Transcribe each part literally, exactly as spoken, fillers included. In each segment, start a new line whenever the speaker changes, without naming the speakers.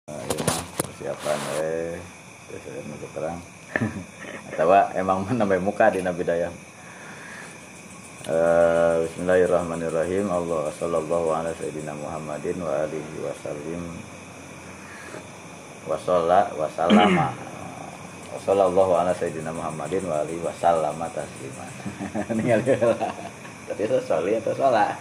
Iya mah persiapan eh biasanya menuju perang. Atau emang menambah muka di Nabi Daya. Uh, Bismillahirrahmanirrahim. Allah sallallahu ala sayyidina Muhammadin wa alihi wasallim wa shalla wa sallama. Sallallahu ala sayyidina Muhammadin wa alihi wasallama tasliman. Ningali heula. Tadi itu soli atau sholat.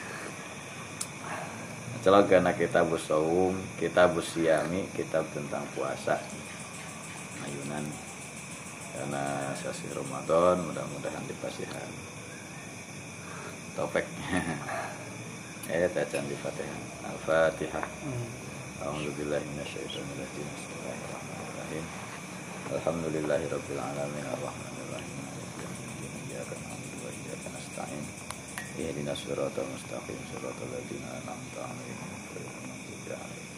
Celok karena kitab saum, kitab siami, kitab tentang puasa. Ayunan karena sasi Ramadan, mudah-mudahan dipasihan. Topik. Eh bacaan di Fatihah. Al-Fatihah. A'udzubillahi minasyaitonir rajim. Bismillahirrahmanirrahim. Alhamdulillahirabbil alamin arrahmanir rahim. Iyyaka na'budu wa iyyaka nasta'in. Ihdinas siratal mustaqim siratal ladzina an'amta 'alaihim ghairil maghdubi 'alaihim.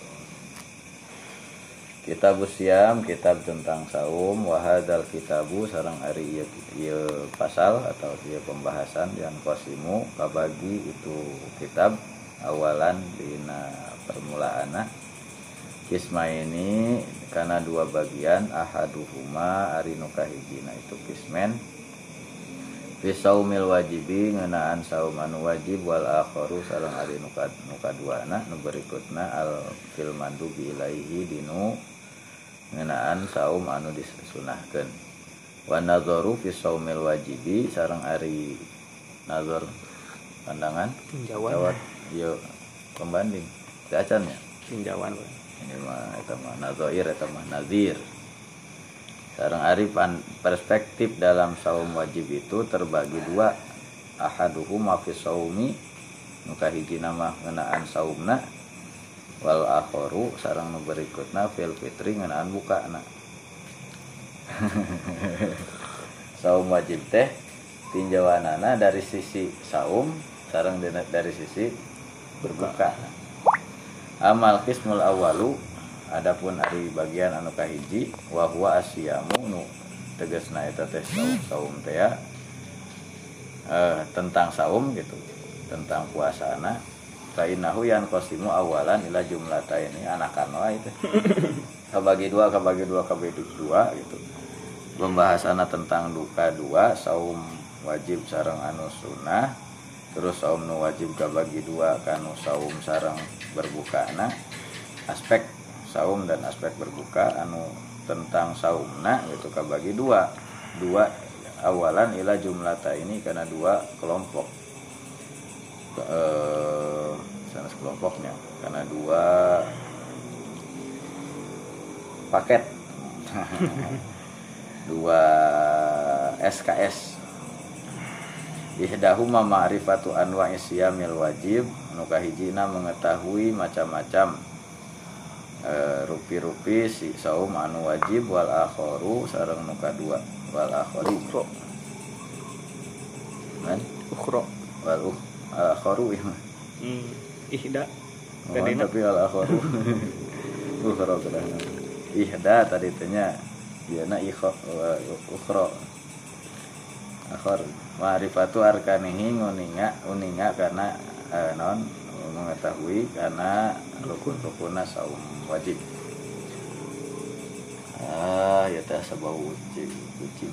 Kitab siam, kitab tentang saum, wa hadzal kitabu sareng ari ieu ieu pasal atau ieu pembahasan yang qasimu kabagi itu kitab awalan dina permulaana kisma ini karena dua bagian ahaduhuma ari nu kahijina itu kismen fi saumil wajibi ngeunaan saum anu wajib wal akharu sareng ari nu kaduana nu berikutna al fil mandubi ilaihi dinu ngeunaan saum anu disunahkeun wa nadzaru fi saumil wajibi sareng ari nazar pandangan
tinjauan
ieu pembanding acan ya
tinjauan
ini mah eta mah nazair eta mah nazir. Sareng ari perspektif dalam saum wajib itu terbagi dua. Ahaduhuma fi saumi nu kahijina mah ngeunaan saumna wal akharu sareng nu berikutna fil fitri ngeunaan bukana. Saum wajib teh tinjauanana dari sisi saum sareng dari sisi berbuka. Amal qismul awalu adapun ari bagian anu kahiji wa huwa asyamu nu tegasna eta teh saum saum teh eh, tentang saum gitu tentang puasana fa innahu yan qasimu awalan ila jumlataini anakan wae itu kabagi dua kabagi dua kabagi dua gitu pembahasanna tentang duka dua saum wajib sareng anu sunnah terus saum nu wajib kabagi dua kanu saum sareng berbukana aspek saum dan aspek berbuka anu tentang saumna itu kabagi dua dua awalan ila jumlata ini karena dua kelompok eh sana kelompoknya karena dua paket dua S K S ihdahuma ma'rifatu anwa'i siyamil wajib nu kahijina mengetahui macam-macam e, rupi-rupi si saum anu wajib wal akharu sareng nu kadua wal akhari ukhra kan ukhra wal akharu
hmm ihda
oh, tapi al akharu ukhra kada ihda tadi tanya dieuna ikha ukhra akhar ma'rifatu arkanihi nguninga uninga karena eh, non mengetahui karena rukun-rukunna saum wajib. Ah, ya teh sabau wajib wajib.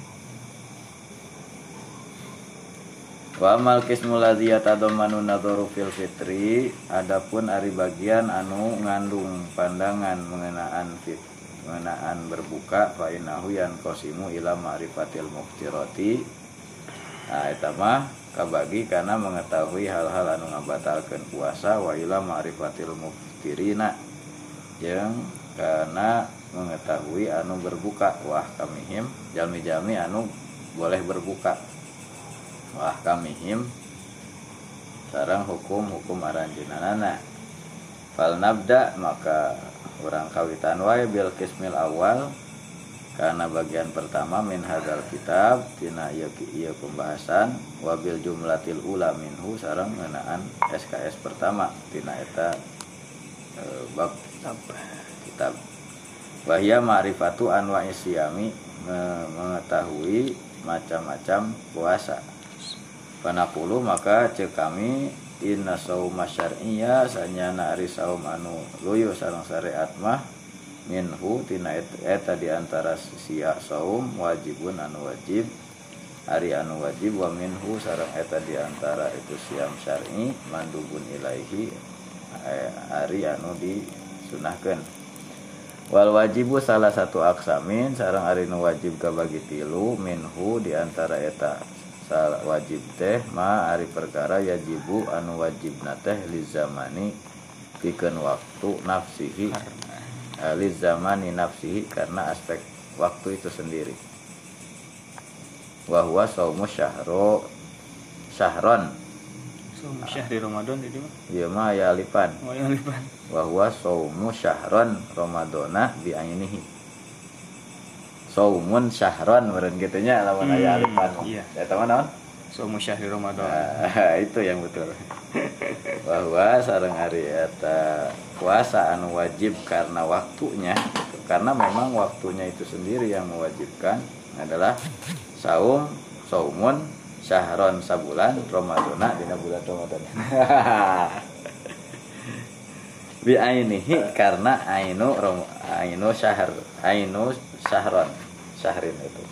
Wa amal qismul ladzi yatadammanu nadharu fil fitri adapun ari bagian anu ngandung pandangan mengenaan fit mengenaan berbuka fa innahu yanqasimu ila ma'rifatil muftirati. Nah, eta mah kabagi karena mengetahui hal-hal anu ngabatalkeun puasa wa ila ma'rifatil muftirina jeung karena mengetahui anu berbuka wah kamihim jalmi-jalmi anu boleh berbuka wah kamihim sareng hukum-hukum aranjeunana fal nabda maka urang kawitan wae bil qismil awal karena bagian pertama min hadzal kitab tina ieu ieu pembahasan wabil jumlatil ula minhu sareng ngeunaan S K S pertama tina eta e, bab kitab wahya ma'rifatu anwa'i siyami mengetahui macam-macam puasa panaqulu maka cek kami inna sauma syar'iyya sanyana ari saum anu luyu sareng syariat mah minhu tina eta di antara sia saum wajibun anu wajib ari anu wajib wa minhu sareng eta di antara itu siam syar'i mandubun ilaihi ari anu disunahkeun. Wal wajibu salah satu aksamin sareng ari nu wajib kabagi tilu minhu di antara eta salah wajib teh ma ari perkara yajibu anu wajibna teh li zamani pikeun waktu nafsihi li zamani nafsihi karena aspek waktu itu sendiri. Wa huwa shaumu syahro syahron
Saumu syahri Ramadan itu mah.
Ieu mah ya alipan.
Oh, ya alipan.
Wa huwa shaumu syahron ramadana bi ainihi. Saumun syahron meureun kitu nya lamun aya alipan.
Iya.
Eta mah naon?
Saumu syahri Ramadan.
Nah, itu yang betul. Wa huwa sareng ari eta puasa anu wajib karena waktunya, karena memang waktunya itu sendiri yang mewajibkan adalah saum, saumun syahron sabulan Ramadana dina bulan Ramadan. Bi ainihi karena ainu ainu syahr ainu syahron syahrin itu.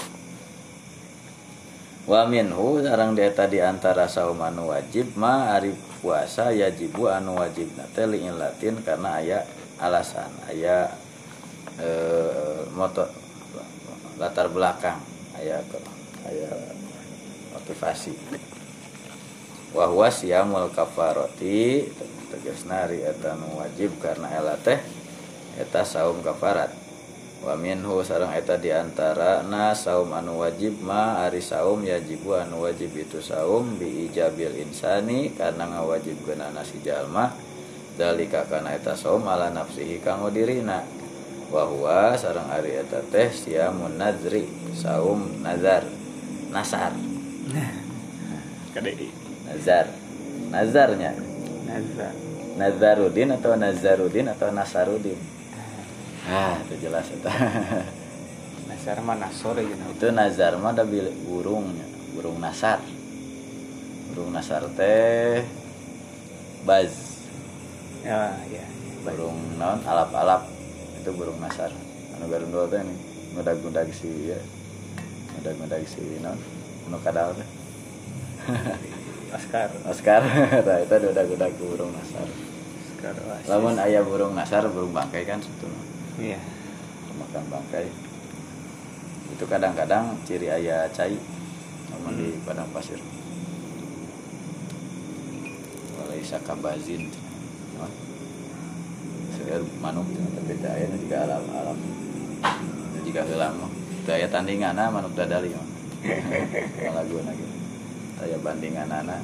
Wa minhu sareng eta di antara saum anu wajib ma ari puasa yajibu anu wajibna teh li latin karena aya alasan aya e, moto latar belakang aya aya motivasi. Wa huwa siyamul kafarati tegasna ari eta nu wajib karena eta teh eta saum kafarat. Wa minhu sareng eta di antara na saum anu wajib ma ari saum yajibu anu wajib itu saum bi ijabil insani karena ngawajibkeun si jalma dalika kana eta saum ala nafsihi kanggo dirina. Wa huwa sareng ari eta teh siamun nazri saum nazar nasar
Kadai
nazar nazarnya
nazar
Nazarudin atau Nazarudin atau Nasarudin. Ah, itu jelas itu.
Nasar mah nasor ya.
Itu nazar mah ada burungnya, burung nasar. Burung nasar teh baz.
Ya, ya.
Burung naon alap-alap itu burung nasar. Anu garundul teh nih, ngudag-ngudag si ya. Ngudag-ngudag si naon? Anu kadal teh.
Oscar.
Oscar. Tah eta ngudag-ngudag burung nasar.
Oscar.
Lamun aya burung nasar, burung bangkai kan sebetulnya.
Iya.
Makan bangkai itu kadang-kadang ciri ayah cai namun hmm. di padang pasir walai sakabazin segar manuk tapi aya juga alam-alam juga heula mah daya tandinganna manuk dadali mah laguna gitu daya bandinganana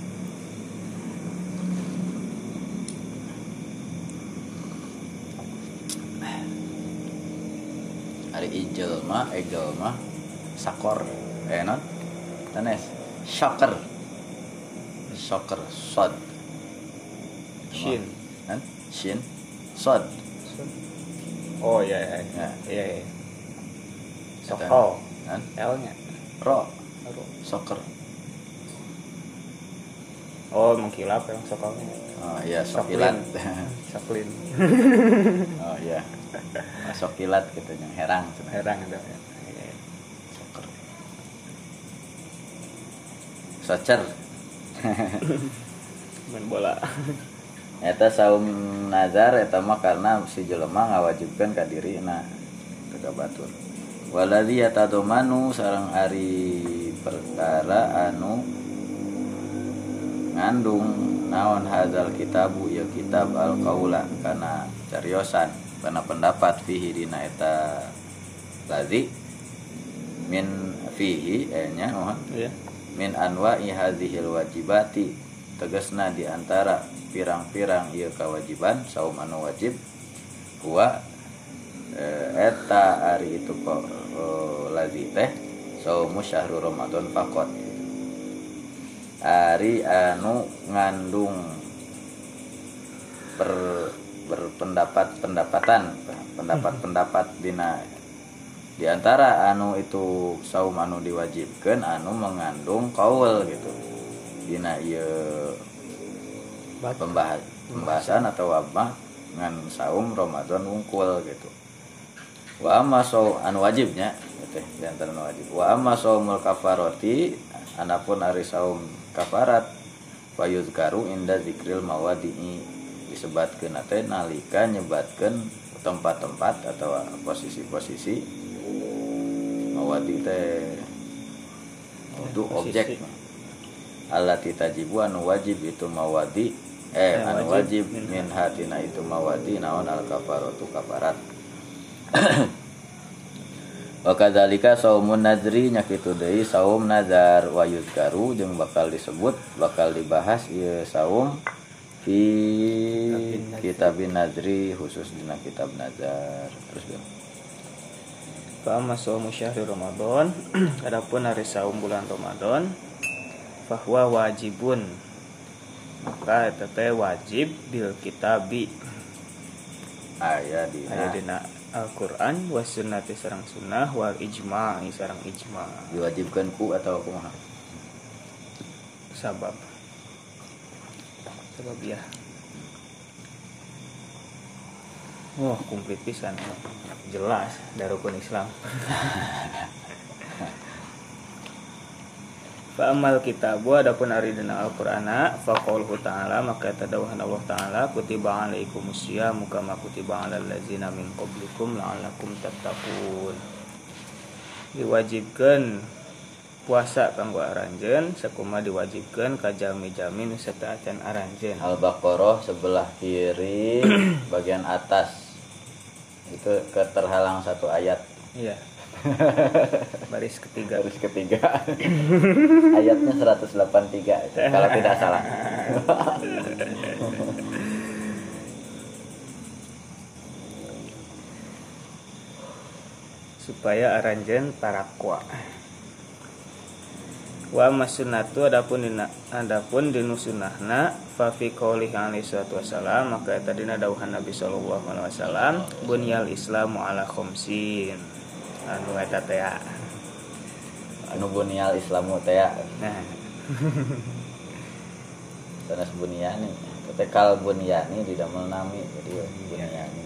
ari ijel mah egel mah sakor eh non tanes shocker shocker sod
shin
kan shin sod
oh iya iya
ya.
Iya iya sokol
kan
L nya
ro soccer
oh mengkilap yang sokolnya
oh iya sokilat
soklin
oh iya masuk kilat gitu yang herang
herang ada
soccer soccer
main bola
eta saum nazar eta mah karena si jelema ngawajibkeun ka dirina teu batur waladzi yatadomanu sareng ari perkara anu ngandung naon hadzal kitabu ya kitab al-qaula kana cariosan kana pendapat fihi dina eta ladzi min fihi enya mohon
iya
min anwa'i hadzihil wajibati tegasna di antara pirang-pirang ieu kewajiban saum anu wajib huwa eta ari itu kok ladzi teh saumu syahrul ramadan faqat ari anu ngandung per berpendapat pendapatan pendapat-pendapat dina di antara anu itu saum anu diwajibkeun anu mengandung qaul gitu dina ieu pembahas pembahasan atau wabah ngan saum Ramadan wungkul gitu. Wa amma saum anu wajibnya teh diantara anu wajib. Wa amma saumul kafarati anapun ari saum kafarat fayuzkaru inda zikril mawadi'i disebatkeun teh nalika nyebatkeun tempat-tempat atau posisi-posisi mawadi teh untuk objek allati tajibu anu wajib itu mawadi eh ya, anu wajib, wajib min hatina itu mawadi naon al kafaratu kafarat. Wa kadzalika saumun nadri nya kitu deui saum nazar wa yuzkaru jeung bakal disebut bakal dibahas ieu saum fi kitabin nadri khusus dina kitab nazar. Terus ya.
Fa amma saumu syahri Ramadan adapun hari saum bulan Ramadan bahwa wajibun maka eta teh wajib bil kitabi
aya dina
aya dina Al-Qur'an was sunnati sareng sunnah wal ijma' sareng ijma'
diwajibkan ku atau kumaha
sabab sabab ya wah komplit pisan jelas dari rukun Islam. Fa amal kitabu adapun ari dina Al-Qur'ana fa qauluhu ta'ala maka tadawuhan Allah ta'ala kutiba alaikumus syiyamu kama kutiba alal ladzina min qablikum la'allakum tattaqun. Diwajibkeun puasa kanggo aranjeun sakuma diwajibkeun ka jalmi-jalmi nu sataacan aranjeun.
Al-Baqarah sebelah kiri bagian atas itu keterhalang satu ayat.
Iya. Baris ketiga.
Baris ketiga. Ayatnya seratus delapan puluh tiga itu, kalau tidak salah.
Supaya aranjeun tarakwa. Wa masunnatu adapun dina adapun dinu sunnahna fa fi qouli alaihi wasallam maka eta dina dawuhan Nabi sallallahu alaihi wasallam bunyal islamu ala khamsin anu eta teh
anu bunyal islamu teh
nah
sanes bunyani teh kal bunyani didamel nami jadi bunyani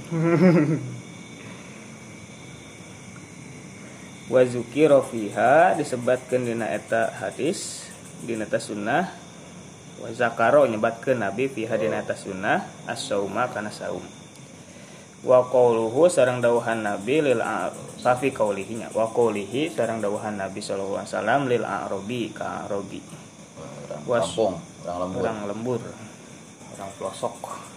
wa zukira fiha disebatkeun dina eta hadis dina eta sunnah wa zakaro nyebatkeun Nabi fiha dina eta sunnah as-sauma kana saum wa qauluhu sareng dawuhan Nabi lil fa fi qaulihi nya wa qaulihi sareng dawuhan Nabi sallallahu alaihi wasallam lil a'rabi ka arabi
orang kampung orang lembur
orang lembur orang pelosok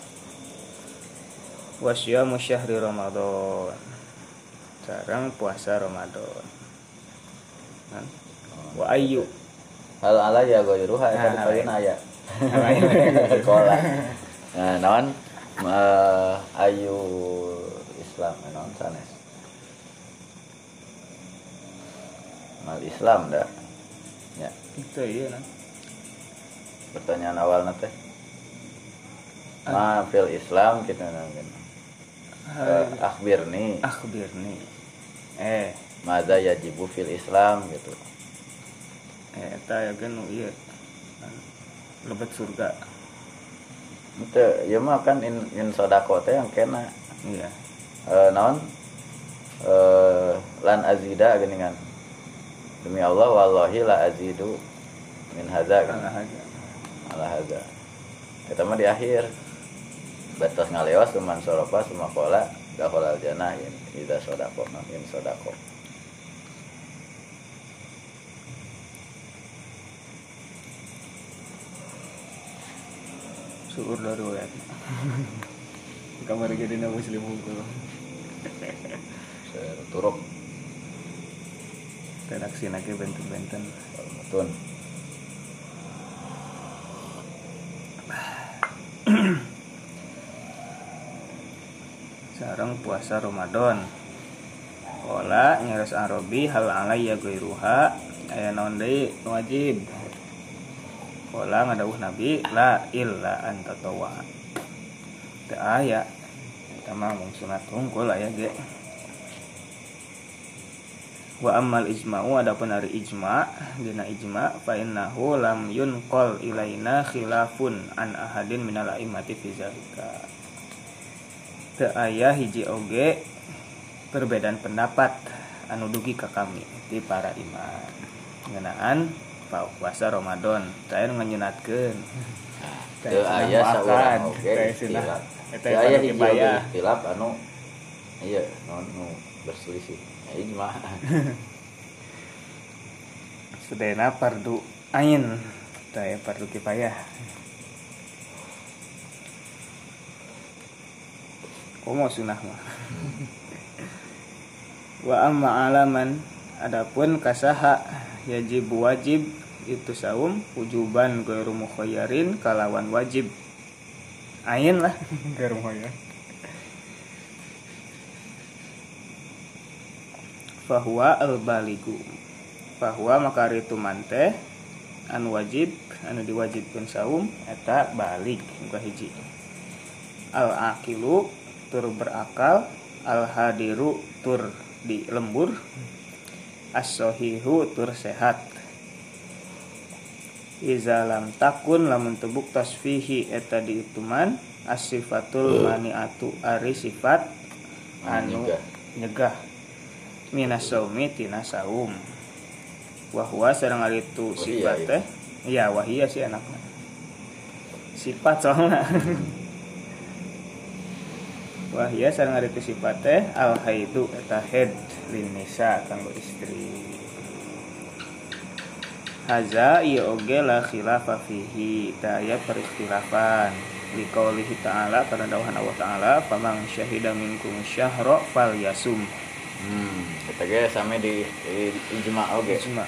wasyamu syahri Ramadan sareng puasa Ramadan. Kan? Wa ayyu
hal ala ya goiruha eta dikaweun aya. Sekolah. Nah, naon uh, ayu Islam naon sanes. Mal Islam dah. Ya.
Itu iya nah.
Pertanyaan awalna teh. Ma fil Islam kita nanggen. Uh, akhbirni
akhbirni eh
madza yajibu fil Islam gitu
eh eta ya kan ieu lebet surga
itu ya mah kan in, in sodako teh yang kena
iya
e, naon e, lan azida geuningan demi Allah wallahi la azidu min hadza kan ala hadza eta mah di akhir batas ngalewas cuman soropa semua kola gaholal jannah ya ida sodako makin sodako
syukur dari wayat kamar jadi na muslim hukum
turuk
redaksi nake benten-benten
betul
sareng puasa Ramadan. Qala nyaros Arabi hal alayya ghairuha aya naon deui wajib. Qala ngadawuh Nabi la illa anta tawa. Teu aya eta mah mung sunat hungkul aya ge. Wa ammal ijma'u adapun ari ijma' dina ijma' fa innahu lam yunqal ilaina khilafun an ahadin minal a'immati fi zalika. Teu aya hiji oge perbedaan pendapat anu dugi ka kami ti para imam ngeunaan puasa Ramadan teu nganyunatkeun.
Teu aya saurang oge istilah. Teu aya hiji oge istilah anu ieu nu berselisih. Ijma.
Sedena fardu ain, taya fardu kifayah. Komo sunah mah. Wa amma alaman adapun kasaha yajib wajib itu saum wujuban ghairu mukhayyarin kalawan wajib. Ain lah ghairu mukhayyar. Fahuwa al-baligu fahuwa makari itu mante anu wajib anu diwajibkan saum eta balik muka hiji al-aqilu tur berakal al-hadiru tur di lembur as-sahihu tur sehat iza lam takun lamun tebuk tasfihi eta diituman as-sifatul mani'atu ari sifat anu nyegah minas saumi tina saum wahwa sareng ari itu sifat teh iya wahia sih anakna sifat soalna wahia sareng ari itu sifat teh al haidu eta haid lin nisa kanggo istri haza ieu oge la khilafa fihi ta aya perikhtilafan li qaulihi ta'ala karena dawuhan Allah taala faman syahida minkum syahra falyasum.
Hmm, kita ge sami di, di ijma oge.
Ijma.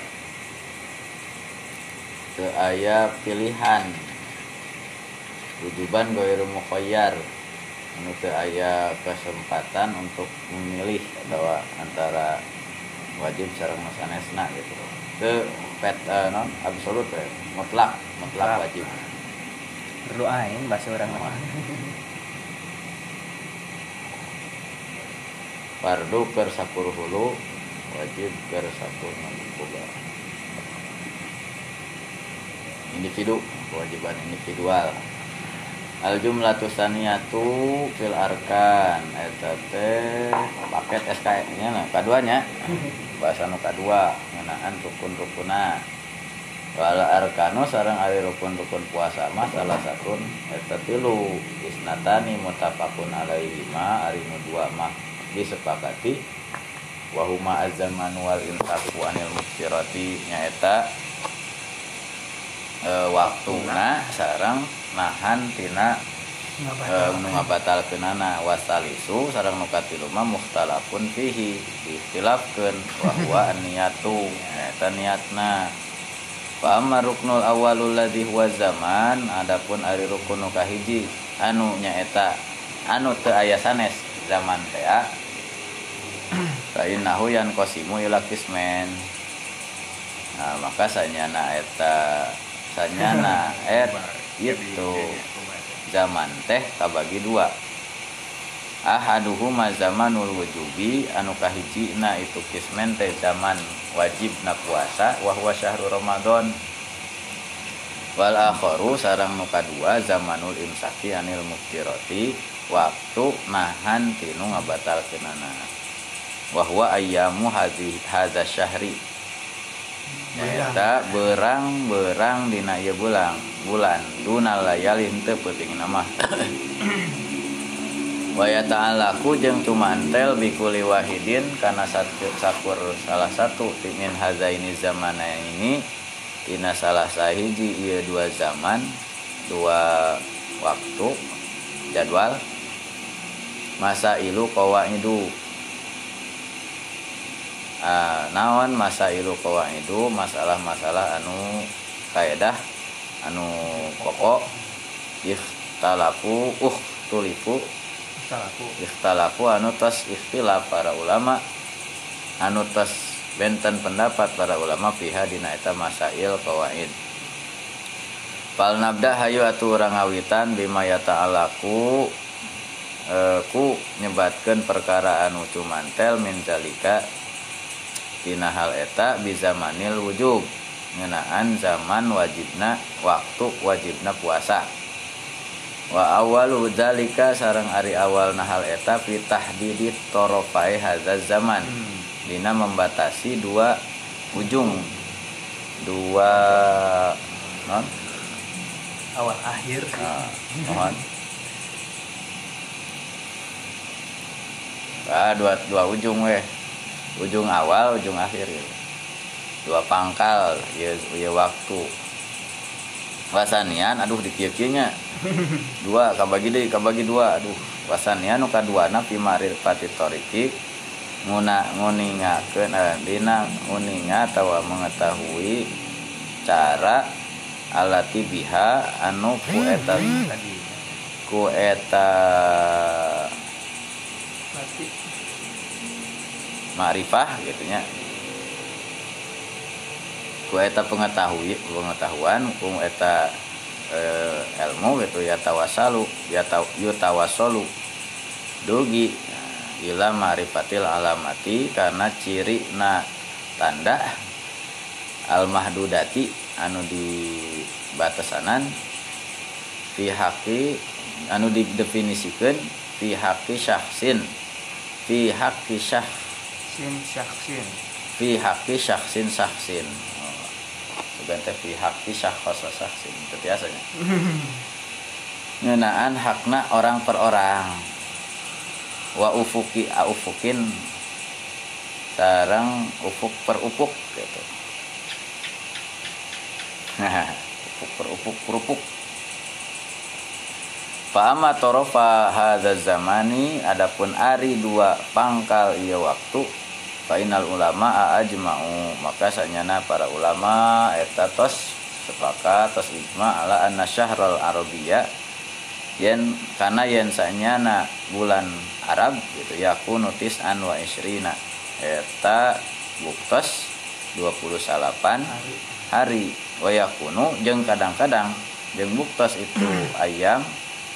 Teu aya pilihan. Wujuban ghairu mukhayyar. Anu teu aya kesempatan untuk memilih atau antara wajib sareng sanesna gitu. Teu pet uh, non absolut we, mutlak, mutlak wajib.
Perlu aing bahasa urang mah.
Fardu keur sapuluh hulu wajib keur sapuluh boga individu kewajiban individual al jumlatu saniyatu fil arkan eta teh paket S K nya nah kaduanya bahasa nu kadua ngeunaan rukun-rukunna wal arkanu sareng ari rukun-rukun puasa mah salah satun eta tilu isnatani muttafaqun alaihi ma ari nu dua mah disepakati wahuma az-zaman wal intaku anil muftirati nyaeta e, waktuna sareng nahan tina e, nu ngabatalkeunana wasalisu sareng nu katilu mah mukhtalafun fihi dikhtilafkeun wa huwa an-niyatu nyaeta niatna fa amma ruknul awwalul ladzi huwa zaman adapun ari rukun nu kahiji anu nyaeta anu teu aya sanes zaman teh Kainahu yan kosimu ila kismen. Nah maka sanyana eta sanyana et itu zaman teh kabagi dua. Ahaduhuma zamanul wujubi anu kahijina itu kismen teh zaman wajibna puasa wa huwa syahrul Ramadan. Wal akharu sareng nu kadua zamanul imsaki anil muftirati waktu nahan tinu ngabatalkeunana. Wahwa ayyamu hadhi hadza syahri eta berang-berang dina ieu bulan bulan dunal layali henteu peuting nama wa ya ta'alaku jeung tumantel bikuli wahidin kana satu sakur salah satu min hazaini zamana ini dina salah sahiji ieu dua zaman dua waktu jadwal masa ilu qawaidu. Uh, naon masailu qawaidu masalah-masalah anu kaidah anu pokok ikhtalafu uh tulifu ikhtalafu ikhtalafu anu tos ikhtilaf para ulama anu tos benten pendapat para ulama fiha dina eta masail qawaid. Fal nabda hayu atu urang ngawitan bima ya ta'alaku uh, ku nyebatkeun perkara anu tumantel min zalika tina hal eta bizamanil wujub ngeunaan zaman wajibna waktu wajibna puasa. Wa awalu dzalika sareng ari awal hal eta fi tahdidit torofai hadzal zaman dina membatasi dua ujung dua non
awal akhir
nah, mohon ah, dua dua ujung weh ujung awal ujung akhir gitu. Dua pangkal ya, ya waktu wasanian aduh dikieu-kieu nya dua kabagi deui kabagi dua aduh wasanian nu kaduana fi ma'rifati tariqi nguna nguningakeun eh, dina nguninga atawa mengetahui cara alati biha anu ku eta ku eta ma'rifah gitu nya ku eta pengetahui pengetahuan ku eta e, ilmu gitu ya tawasalu ya taw, yutawassalu dugi ila ma'rifatil alamati karena ciri na tanda al mahdudati anu di batasanan fi haqi anu didefinisikeun fi haqi syakhsin fi haqi syakhsin
syakhsin
fi haqi syakhsin syakhsin sebentar fi haqi syakhs syakhsin itu biasanya ngeunaan hakna orang per orang wa ufuki a ufukin sareng ufuk per ufuk gitu. Nah, ufuk per ufuk per ufuk. Fa amma tarafa hadzal zamani adapun ari dua pangkal ieu waktu fa innal ulama ajma'u maka sanyana para ulama eta tos sepakat tos ijma ala anna syahrul arabiyya yen kana yen sanyana bulan Arab gitu yakunu tis'an wa isrina eta buktos dua puluh delapan hari wa yakunu jeung kadang-kadang jeung buktos itu ayam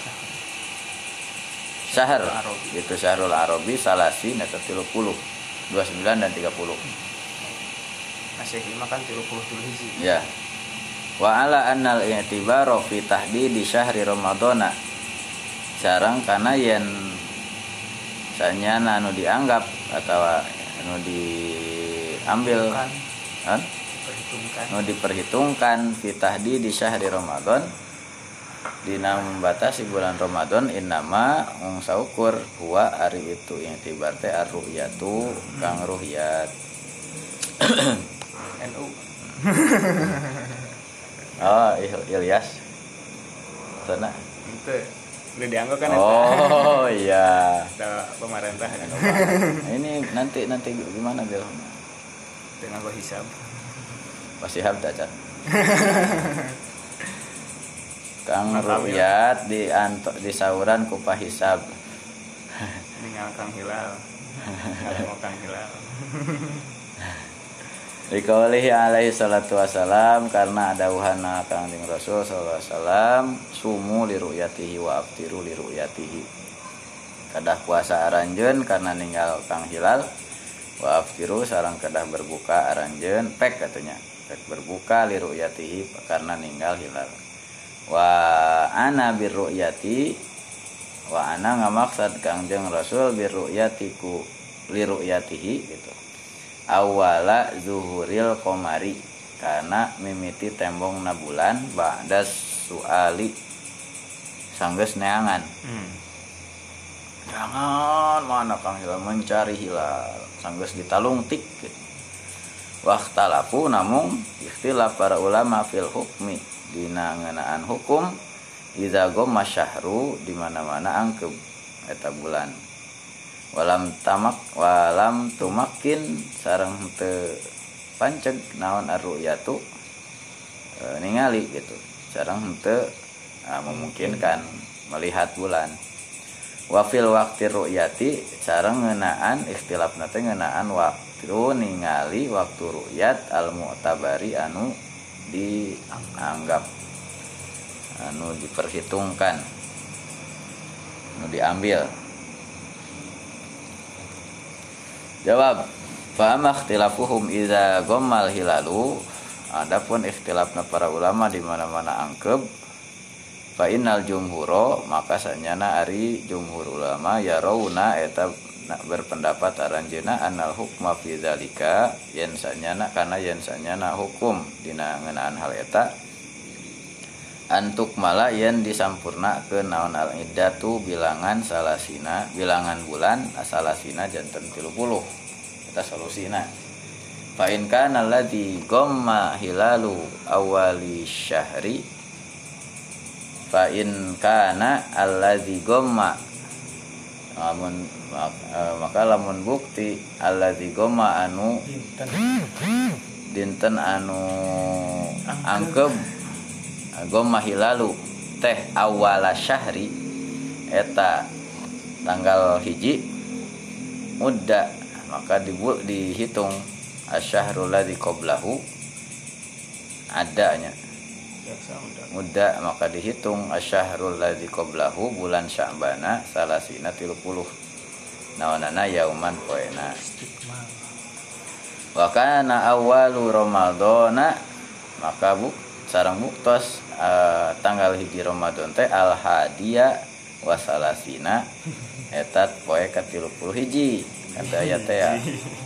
syahr gitu syahrul arabi salasi eta tilu puluh dua puluh sembilan dan tiga puluh
masih lima kan tilu puluh hiji
ya wa ala annal i'tibaru fi tahdidi syahri ramadhana sareng kana yen sanyana anu dianggap atau anu diambil kan diperhitungkan anu diperhitungkan fi tahdidi syahri ramadhan dina membatasi bulan Ramadan innama mung saukur huwa ari itu yang tibar teh ar-ru'yatu kang ru'yat
N U
oh Ilyas sana
itu udah dianggap kan
oh iya
pemerintah
ini nanti nanti gimana Bil
dengan gua hisab
pasti hab cacat kang ru'yat di anto di sauran ku pahisab
tinggal kang hilal kalau kang hilal
dikaulihi alaihi salatu wassalam karena ada wahana kanjeng Rasul sallallahu alaihi wasallam sumu li ru'yatihi wa aftiru li ru'yatihi kadah puasa aranjeun karena ninggal kang hilal wa aftiru sareng kadah berbuka aranjeun pek katanya pek berbuka li ru'yatihi karena ninggal hilal wa ana birru'yati wa ana ngamaksad kangjeng Rasul birru'yatiku li ru'yatihi gitu awala zuhuril qamari karena mimiti tembong na bulan ba'da suali sanggeus neangan hmm. Jangan mana kang hilal mencari hilal sanggeus ditalungtik gitu. Waqtalafu namung ikhtilaf para ulama fil hukmi dina ngeunaan hukum iza gomma syahru di mana-mana angkep eta bulan walam tamak walam tumakin sareng teu panceg naon ar-ru'yatu e, ningali gitu sareng teu nah, memungkinkan melihat bulan wa fil waqti ru'yati sareng ngeunaan ikhtilafna teh ngeunaan waktu ningali waktu ru'yat al-mu'tabari anu dianggap anu diperhitungkan anu diambil. Jawab Fa amma ikhtilafuhum idza ghammal hilalu, adapun ikhtilafna para ulama di mana-mana angkeb, fa innal jumhuro maka sanyana ari jumhur ulama ya rauna eta berpendapat aranjeuna annal hukma fi dzalika yen sanyana kana yen sanyana hukum dina ngeunaan hal eta antuk mala yen disampurnakeun naon al iddatu bilangan salasina bilangan bulan salasina janten tilu puluh eta solusina. Fa in kana alladzi ghamma hilalu awali syahri fa in kana alladzi ghamma lamun maka lamun bukti alladzi ghamma anu dinten anu angkeb ghamma hilalu teh awala syahri eta tanggal hiji mudda maka dibu, dihitung asyahrul ladzi qablahu adanya muda maka dihitung asyahrul ladzi qablahu bulan Sya'bana salasina tilu puluh nawanana yauman poena wa kana awwalu ramadhana maka bu sareng buktos uh, tanggal hiji Ramadan teh al hadiya wa salasina etat poe ka tilu puluh hiji kata ayat teh ya.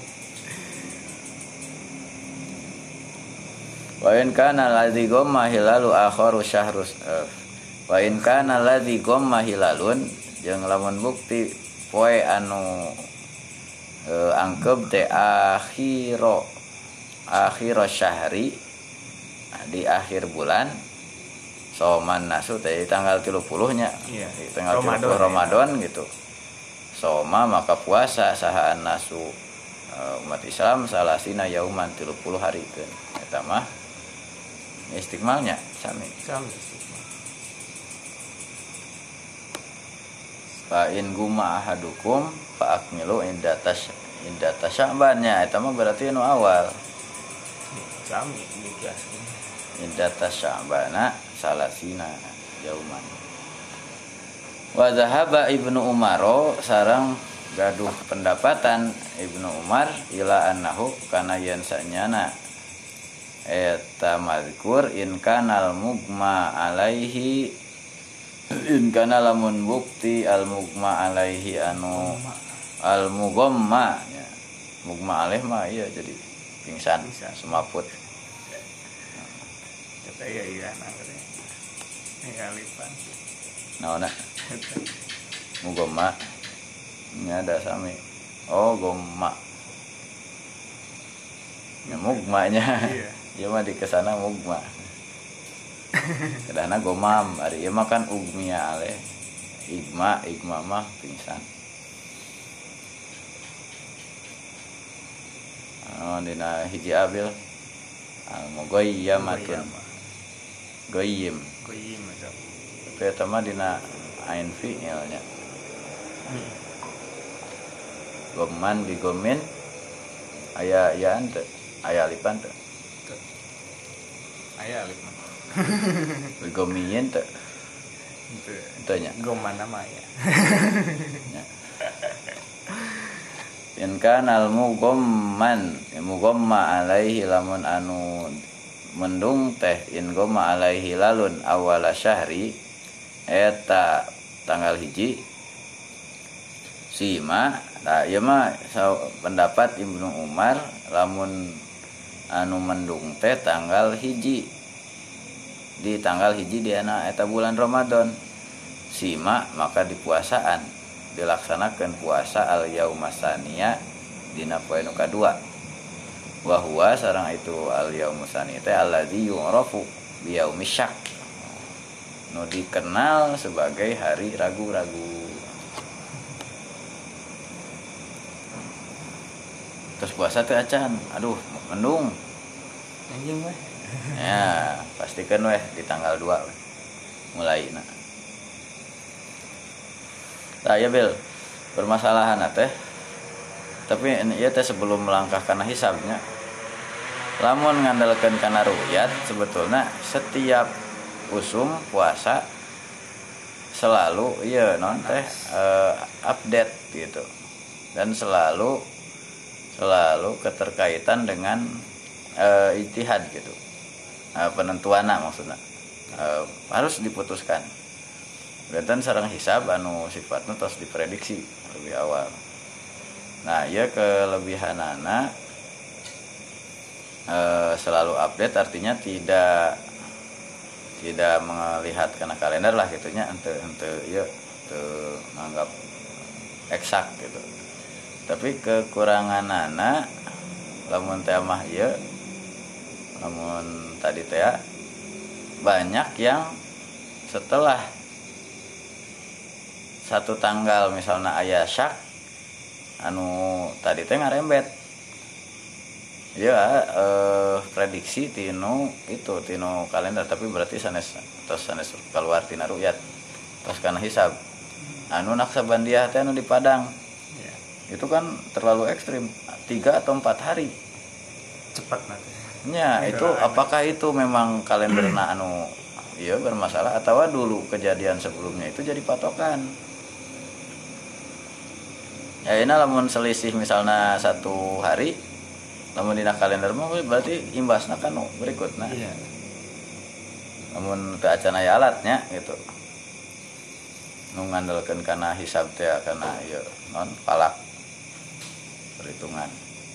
Wa in kana ladzi ghamma hilalu akharu syahrus uh, wa in kana ladzi ghamma hilalun jeung lamun bukti poe anu uh, angkeb teh akhiro akhiro syahri di akhir bulan soman nasu teh tanggal tilu puluh nya iya, tanggal tilu puluh Ramadan ya. Gitu soma maka puasa sahaan nasu uh, umat Islam salasina yauman tilu puluh hari kan eta mah istiqmalnya sami sami istiqmal. Fa in guma ahadukum fa akmilu indatas indatas Sya'bannya eta mah berarti anu awal sami dijelaskeun indatas Sya'bana salasina yauman. Wa zahaba Ibnu Umar sareng gaduh pendapatan Ibnu Umar ila annahu kana yen sanyana eta mazkur in kanal mugma alaihi in kana lamun bukti al mugma alaihi anu al mughamma ya. Mugma alaih mah iya jadi pingsan semaput kata iya iya nah katanya ini alipan naona mughamma ini ada sami oh gomma ya mugmanya iya ya mah di kesana mugma kadana gomam ari ieu mah kan ugmia ale igma igma mah pingsan oh dina hiji abil al mughayyamatun goyim goyim tapi eta mah dina ain fi'ilnya goman bigomin aya yaan teu aya alipan teu aya alipan bigomin teu teu nya goman nama ya in kana al mughamman mughamma alaihi lamun anu mendung teh in ghamma alaihi lalun awala syahri eta tanggal hiji sima nah ieu mah pendapat Ibnu Umar lamun anu mendung teh tanggal hiji di tanggal hiji di ana eta bulan Ramadan sima maka di puasaan dilaksanakan puasa al yaumasaniya dina poe nu kadua wa huwa sareng itu al yaumusani teh allazi yu'rafu bi yaumisyak nu dikenal sebagai hari ragu-ragu. Terus puasa teh acan aduh mendung anjing weh ya pastikan weh di tanggal dua weh mulaina. Nah ya Bel, permasalahan teh tapi ieu teh sebelum melangkah kana hisabnya lamun ngandalkeun kana ru'yat sebetulnya setiap usum puasa selalu ieu non teh uh, update gitu dan selalu selalu keterkaitan dengan e, ijtihad gitu, e, penentuan maksudnya e, harus diputuskan. Berarti sareng hisab anu sifatnya terus diprediksi lebih awal. Nah ya kelebihanana e, selalu update, artinya tidak tidak melihat kena kalender lah gitunya, ente ente ya ente menganggap eksak gitu. Tapi kekurangan anak lamun teh mah ieu lamun tadi teh banyak yang setelah satu tanggal misalnya aya syak anu tadi teh ngarembet ya eh, prediksi tinu itu tinu kalender, tapi berarti sanes tos sanes keluar tina ru'yat tos kana hisab anu naksabandiah teh anu di Padang itu kan terlalu ekstrim, tiga atau empat hari
cepat nanti
ya. Itu apakah itu memang kalenderna anu iya bermasalah atau dulu kejadian sebelumnya itu jadi patokan ya. Ini lamun selisih misalnya satu hari lamun dina kalender mah berarti imbasna kan berikutnya iya. Lamun teu acan aya alatnya gitu nu ngandalkeun kana hisab teh kana ieu non palak perhitungan.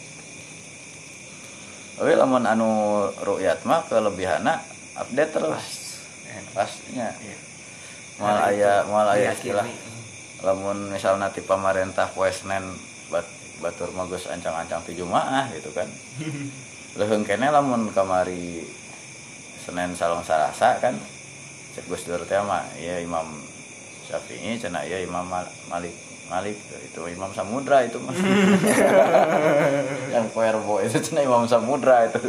Oke, lamun anu ru'yat mah kelebihanna update terus. Pastinya. Mal aya mal aya istilah. Lamun misalna ti pamarentah poe Senen bat, batur mah geus ancang-ancang ti Jumaah gitu kan. Leuheung keneh lamun kamari Senin Salong Salasa kan cek Gus Dur teh mah ya Imam Syafi'i cenah ya Imam Malik Malik itu Imam Samudra itu mas. Yang Puerbo itu cina Imam Samudra itu.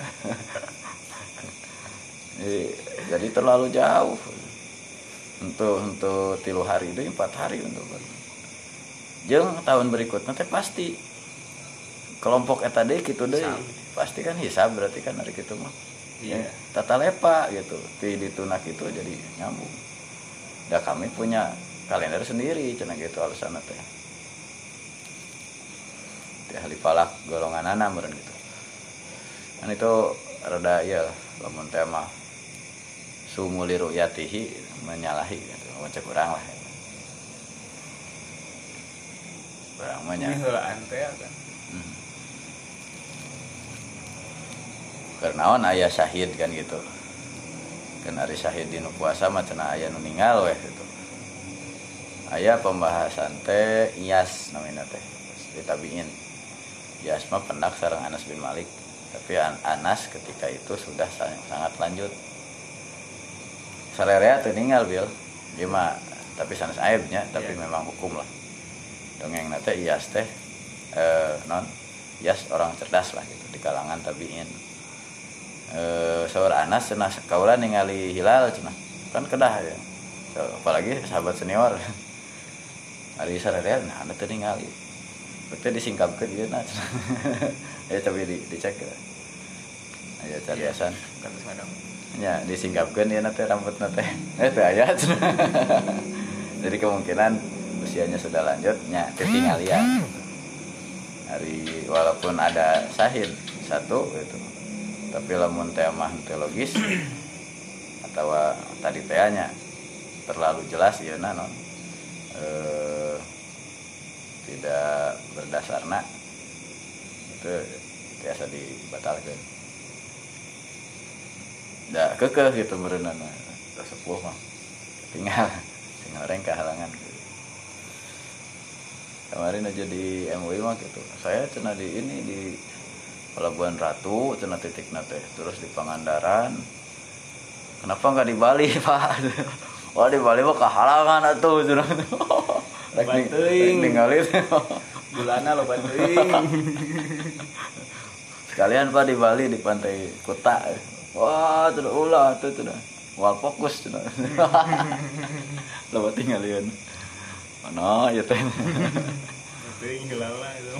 Jadi terlalu jauh untuk untuk tilu hari itu empat hari untuk jeung tahun berikutnya teh pasti kelompok eta deui kitu deui pasti kan hisab, berarti kan hari kitu mah yeah. Ya, tata lepa gitu ti ditunak itu jadi nyambung. Da kami punya kalender sendiri cenah gitu alasanna teh. Teh ahli falak golongan ana meureun gitu. Kan itu rada ieu lah lamun teh mah sumuli ru'yatihi menyalahi gitu. Macam kurang lah. Kurang mah nya.
Heulaan teh kan.
Hmm. Karnaon aya syahid kan gitu. Kan ari syahid dinu puasa mah cenah aya nu ninggal we gitu. Aya pembahasan teh Iyas namanya teh di tabiin. Iyas mah pendak sareng Anas bin Malik, tapi Anas ketika itu sudah sangat lanjut. Salerea teu ninggal bil. Ieu mah tapi sanes aibnya, tapi yeah. Memang hukum lah. Dongeng teh Iyas teh eh non Iyas orang cerdas lah gitu di kalangan tabiin. Eh saur Anas cenah kaula ningali hilal cenah. Kan kedah ya. So, apalagi sahabat senior. Ari sararea nah anu teu ningali. Teu disingkapkeun ieu na. Ya tapi di dicek ya. Aya cariasan
kan sadang.
Ya disingkapkeun ieu na teh rambutna teh. Eh teu aya. Jadi kemungkinan usianya sudah lanjut nya teu tinggalian. Hari walaupun ada sahid satu gitu. Tapi lamun teh mah teu logis atau tadi teh nya terlalu jelas ieu na non. Eh, tidak berdasarna itu biasa dibatalkan. Da kekeh gitu meureunana sepuh mah tinggal tinggal orang kehalangan gitu. Kemarin aja di M U I mah gitu saya cenah di ini di Pelabuhan Ratu cenah titik nate terus di Pangandaran. Kenapa nggak di Bali Pak? Wah di Bali mah kehalangan atuh cenah. Rek ningali
bulana lo bantuing.
Sekalian Pak di Bali di Pantai Kuta. Wah, tuh ulah tuh tuh. Wah fokus cenah. Lo tinggalieun. Mana ya teh.
Teuing heula itu.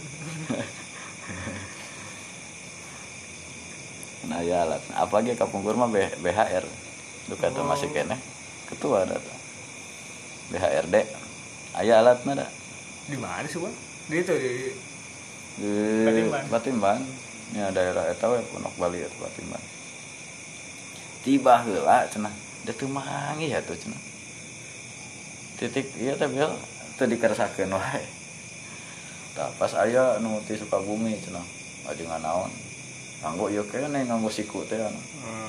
Nah ya alat. Apalagi kapungkur mah B H R. Duka tuh masih kene. Ketua ada tuh. B H R D. Aya alatna da.
Di mana sih, Bang? Di itu di
di
Batimban.
Batimban nya daerah eta we Pondok Bali eta Batimban tiba heula cenah da teu manggih atuh cenah titik ieu teh bel teu dikeresakeun wae tah pas aya nu ti Sukabumi cenah ajengan naon nganggo ieu keneh nganggo siku teh anu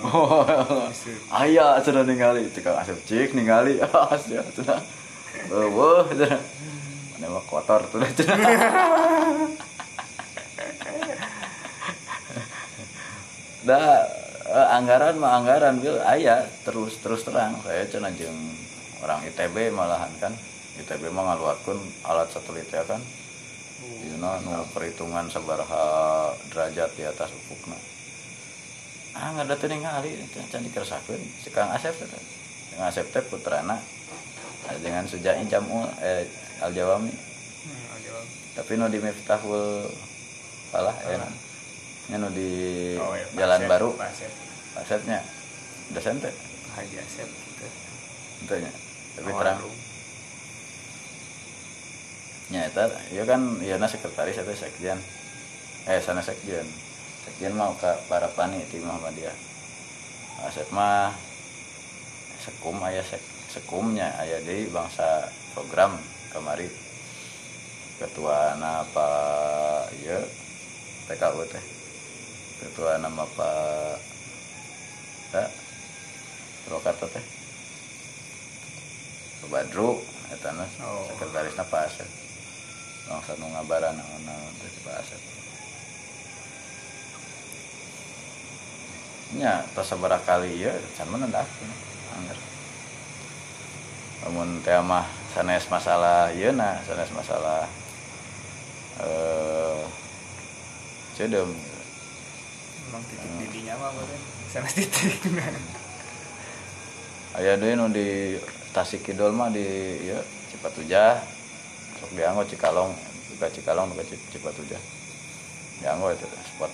aya cenah ningali tukang asep cik ningali asa cenah eueuh cenah mana mah kotor tuh cenah da eh, anggaran mah anggaran bil aya terus terus terang saya cenah jeung orang I T B malahan kan I T B mah ngaluarkeun alat satelit ya kan dina nu perhitungan sabaraha derajat di atas ufukna ah ngada teu ningali can dikeresakeun si Kang Asep teh Kang Asep teh putrana dengan Sujai Jamul eh Al Jawami
Hmm, aja.
tapi nu di Miftahul Falah ya nya nu di
Oh, ya,
Jalan
Asep,
Baru
Pak Asep.
Asepnya dosen teh
Haji Asep gitu.
ente nya tapi
Oh,
terang
aduh.
nya eta ieu kan ieuna sekretaris eta sekjen eh sana sekjen sekjen mah ka para pani ti Muhammadiyah Asep mah sekum aya sek sekumnya aya deui bangsa program kamari ketua apa ieu T K U teh ketua nama Pak ta Purwakarta teh Pak Badru eta na
Oh.
sekretarisna Pak Asep bangsa nu ngabaran naon teh Pak Asep nya tos sabaraha kali ieu can menendakeun anggar lamun teh mah sanes masalah ieuna sanes masalah eh cedeum
Emang titik didinya mah beureun. Sana titik.
aya deui nu di Tasik Kidul mah di ieu Cipatujah sok dianggo Cikalong buka Cikalong buka Cipatujah dianggo eta spot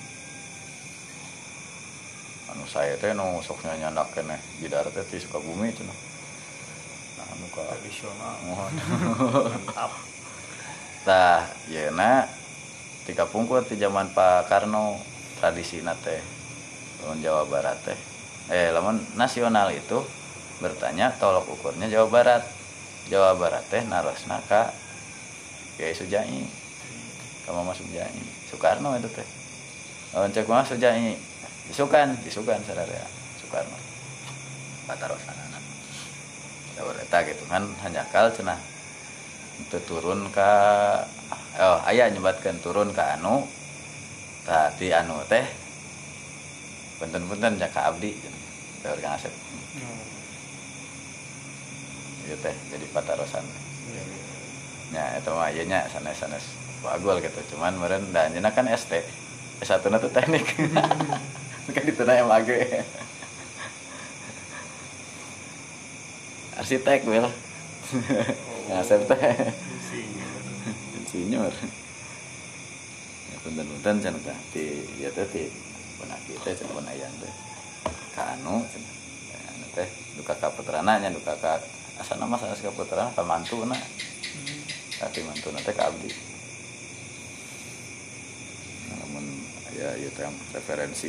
anu saya teh nu sok nyandak keneh bidar teh ti Sukabumi cenah nah anu ka
Tradisional.
mantap tah yeuna tika pungkur ti zaman Pak Karno tradisina teh lamun Jawa Barat teh eh lamun nasional itu bertanya tolok ukurnya Jawa Barat Jawa Barat teh narosna ka Kiai Sujai ka Mama Sujai Soekarno itu teh lamun cek mah Sujai disukan disukan sadaya Soekarno patarosanana Jawa eta gitu kan hanjakal cenah teu turun ka oh aya nyebatkeun turun ka anu tah di anu teh punten-punten jaka abdi teh Kang Asep ieu teh jadi patarosan nya eta mah ieu nya sanes-sanes bagol gitu cuman meureun da anjeunna kan S T S satu na teh teknik kan dituna M A G arsitek wel Kang Asep teh insinyur ya punten-punten cenah teh ti ieu teh ti benak kita cenah penayan teh ka anu cenah anu teh duka ka putrana nya duka ka asana mah sanes ka putrana ka mantuna tapi mantuna teh ka abdi namun ya ieu teh referensi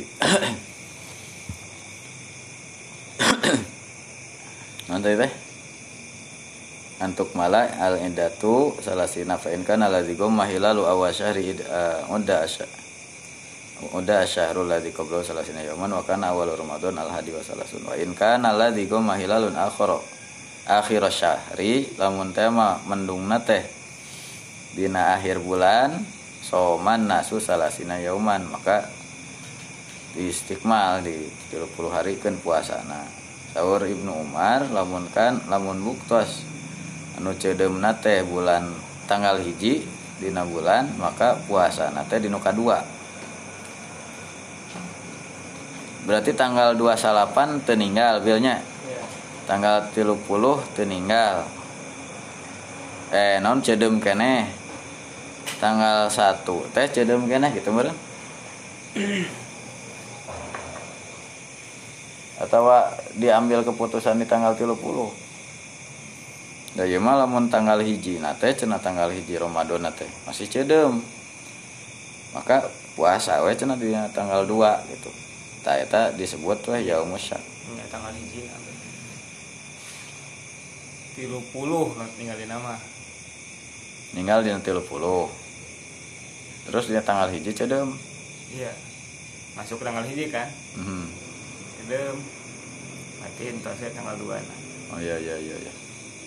nanti teh antuk mala al indatu salasina fa in kana ladzi gum mahilalu awasyahri unda asya unda asyahrul ladzi qabla salasina yawman wa kana awal ramadan al hadi wa salasun wa in kana ladzi gum mahilalun akhara akhir syahri lamun tema mendungna teh dina akhir bulan soman nasu salasina yauman maka di istikmal di tiga puluh hari keun puasana saur Ibnu Umar lamun kan lamun buktos anu cedeumna teh bulan tanggal hiji dina bulan maka puasana teh dina kadua berarti tanggal dua puluh delapan teu ninggal bilnya tanggal tiga puluh teu ninggal eh naon cedeum keneh tanggal satu teh cedeum keneh gitu meureun atau diambil keputusan di tanggal tiga puluh da ieu mah lamun tanggal hiji na teh cenah tanggal hiji Ramadan teh masih cedeum maka puasa we cenah di tanggal dua gitu. Tah eta disebut we yaumus syak.
Nya tanggal hiji tilu puluh tinggal di nama.
Ninggal dina tilu puluh. Terus dina tanggal hiji cedeum.
Iya. Masuk tanggal hiji kan?
Mhm.
Cedeum. Mati entos tanggal dua nah.
Oh iya iya iya iya.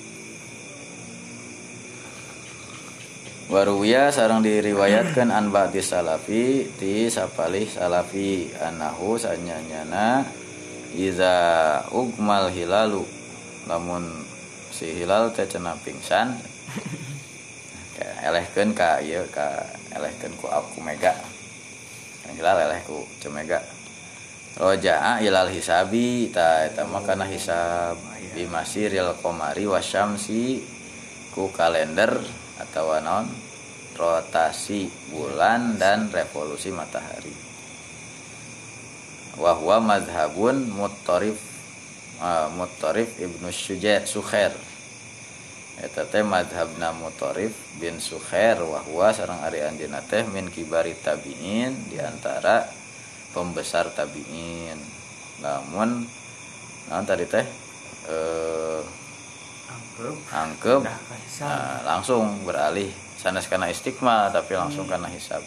Waruwiya sareng diriwayatkeun an ba'di salafi ti sapalih salafi anahu sanyanyana iza ugmal hilalu lamun si hilal teh cenah pingsan elehkeun ka ieu ka elehkeun ku aku mega hilal eleh ku cemega roja'a ilal hisabi ta eta mah kana hisab bimasiril qamari wasyamsi ku kalender atau non rotasi bulan dan revolusi matahari. Wa huwa mazhabun muttarif uh, muttarif Ibnu Syuja' Sukhair. Eta teh mazhabna Muttarif bin Sukhair wa huwa sareng ari anjeunna teh min kibari tabi'in di antara pembesar tabi'in. Namun naon tadi teh eh
Angkep.
Angkep. Nah, langsung beralih sanes kana istiqmal tapi langsung hmm. kana hisab.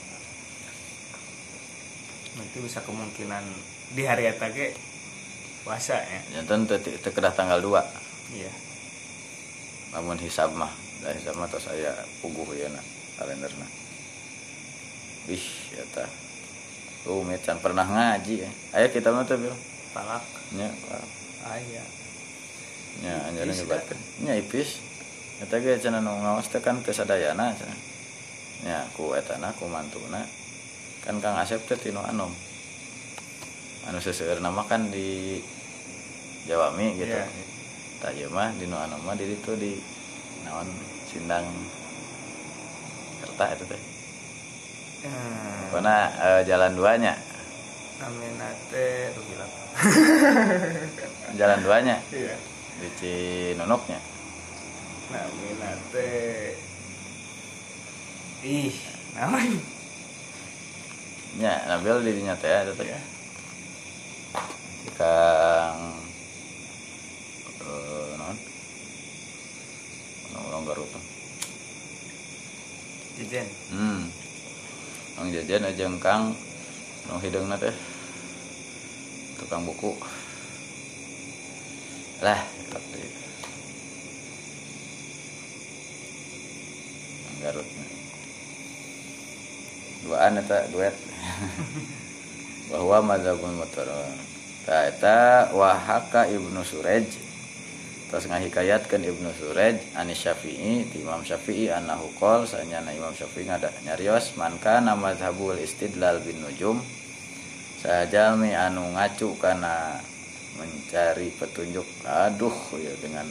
Itu bisa kemungkinan di hari eta ge puasa ya.
Janten teu teu kedah tanggal dua.
Iya.
Namun hisab mah, da hisab mah tos aya puguh ieu na kalenderna. Wih, eta. Oh, mecan pernah ngaji ya. Aya kita mah teh bil.
Palak.
Nya, palak.
Aya.
Nya anjeunna nyebatkeun. Nya ipis. Eta ge cenah nu ngaos teh kan teu sadayana cenah. Nya ku etana ku mantuna. Kan Kang Asep teh tinu Anom. Anu seseueurna mah kan di Jawami gitu. Yeah. Tah ieu mah di nu Anom mah di ditu di naon Sindang Kerta eta teh. Hmm. Pokona uh, jalan duanya.
Namina teh gila.
Jalan duanya.
Iya.
Di Cinunuknya.
Namina teh ih, naon?
Nya, Nabil di dinya teh eta teh. Kang eh naon? Orang Garut.
Jejen.
Hmm. Kang Jejen jeung Kang nu hideungna teh tukang buku. Lah, tapi Garut. Duaan eta duet. Bahwa mazhabul muttarif. Ta eta wahaka Ibnu Suraj. Terus ngahikayatkeun Ibnu Suraj ani Syafi'i ti Imam Syafi'i annahu qol sanyana Imam Syafi'i ngada nyarios man kana mazhabul istidlal bin nujum sajalmi anu ngacu kana mencari petunjuk aduh ya dengan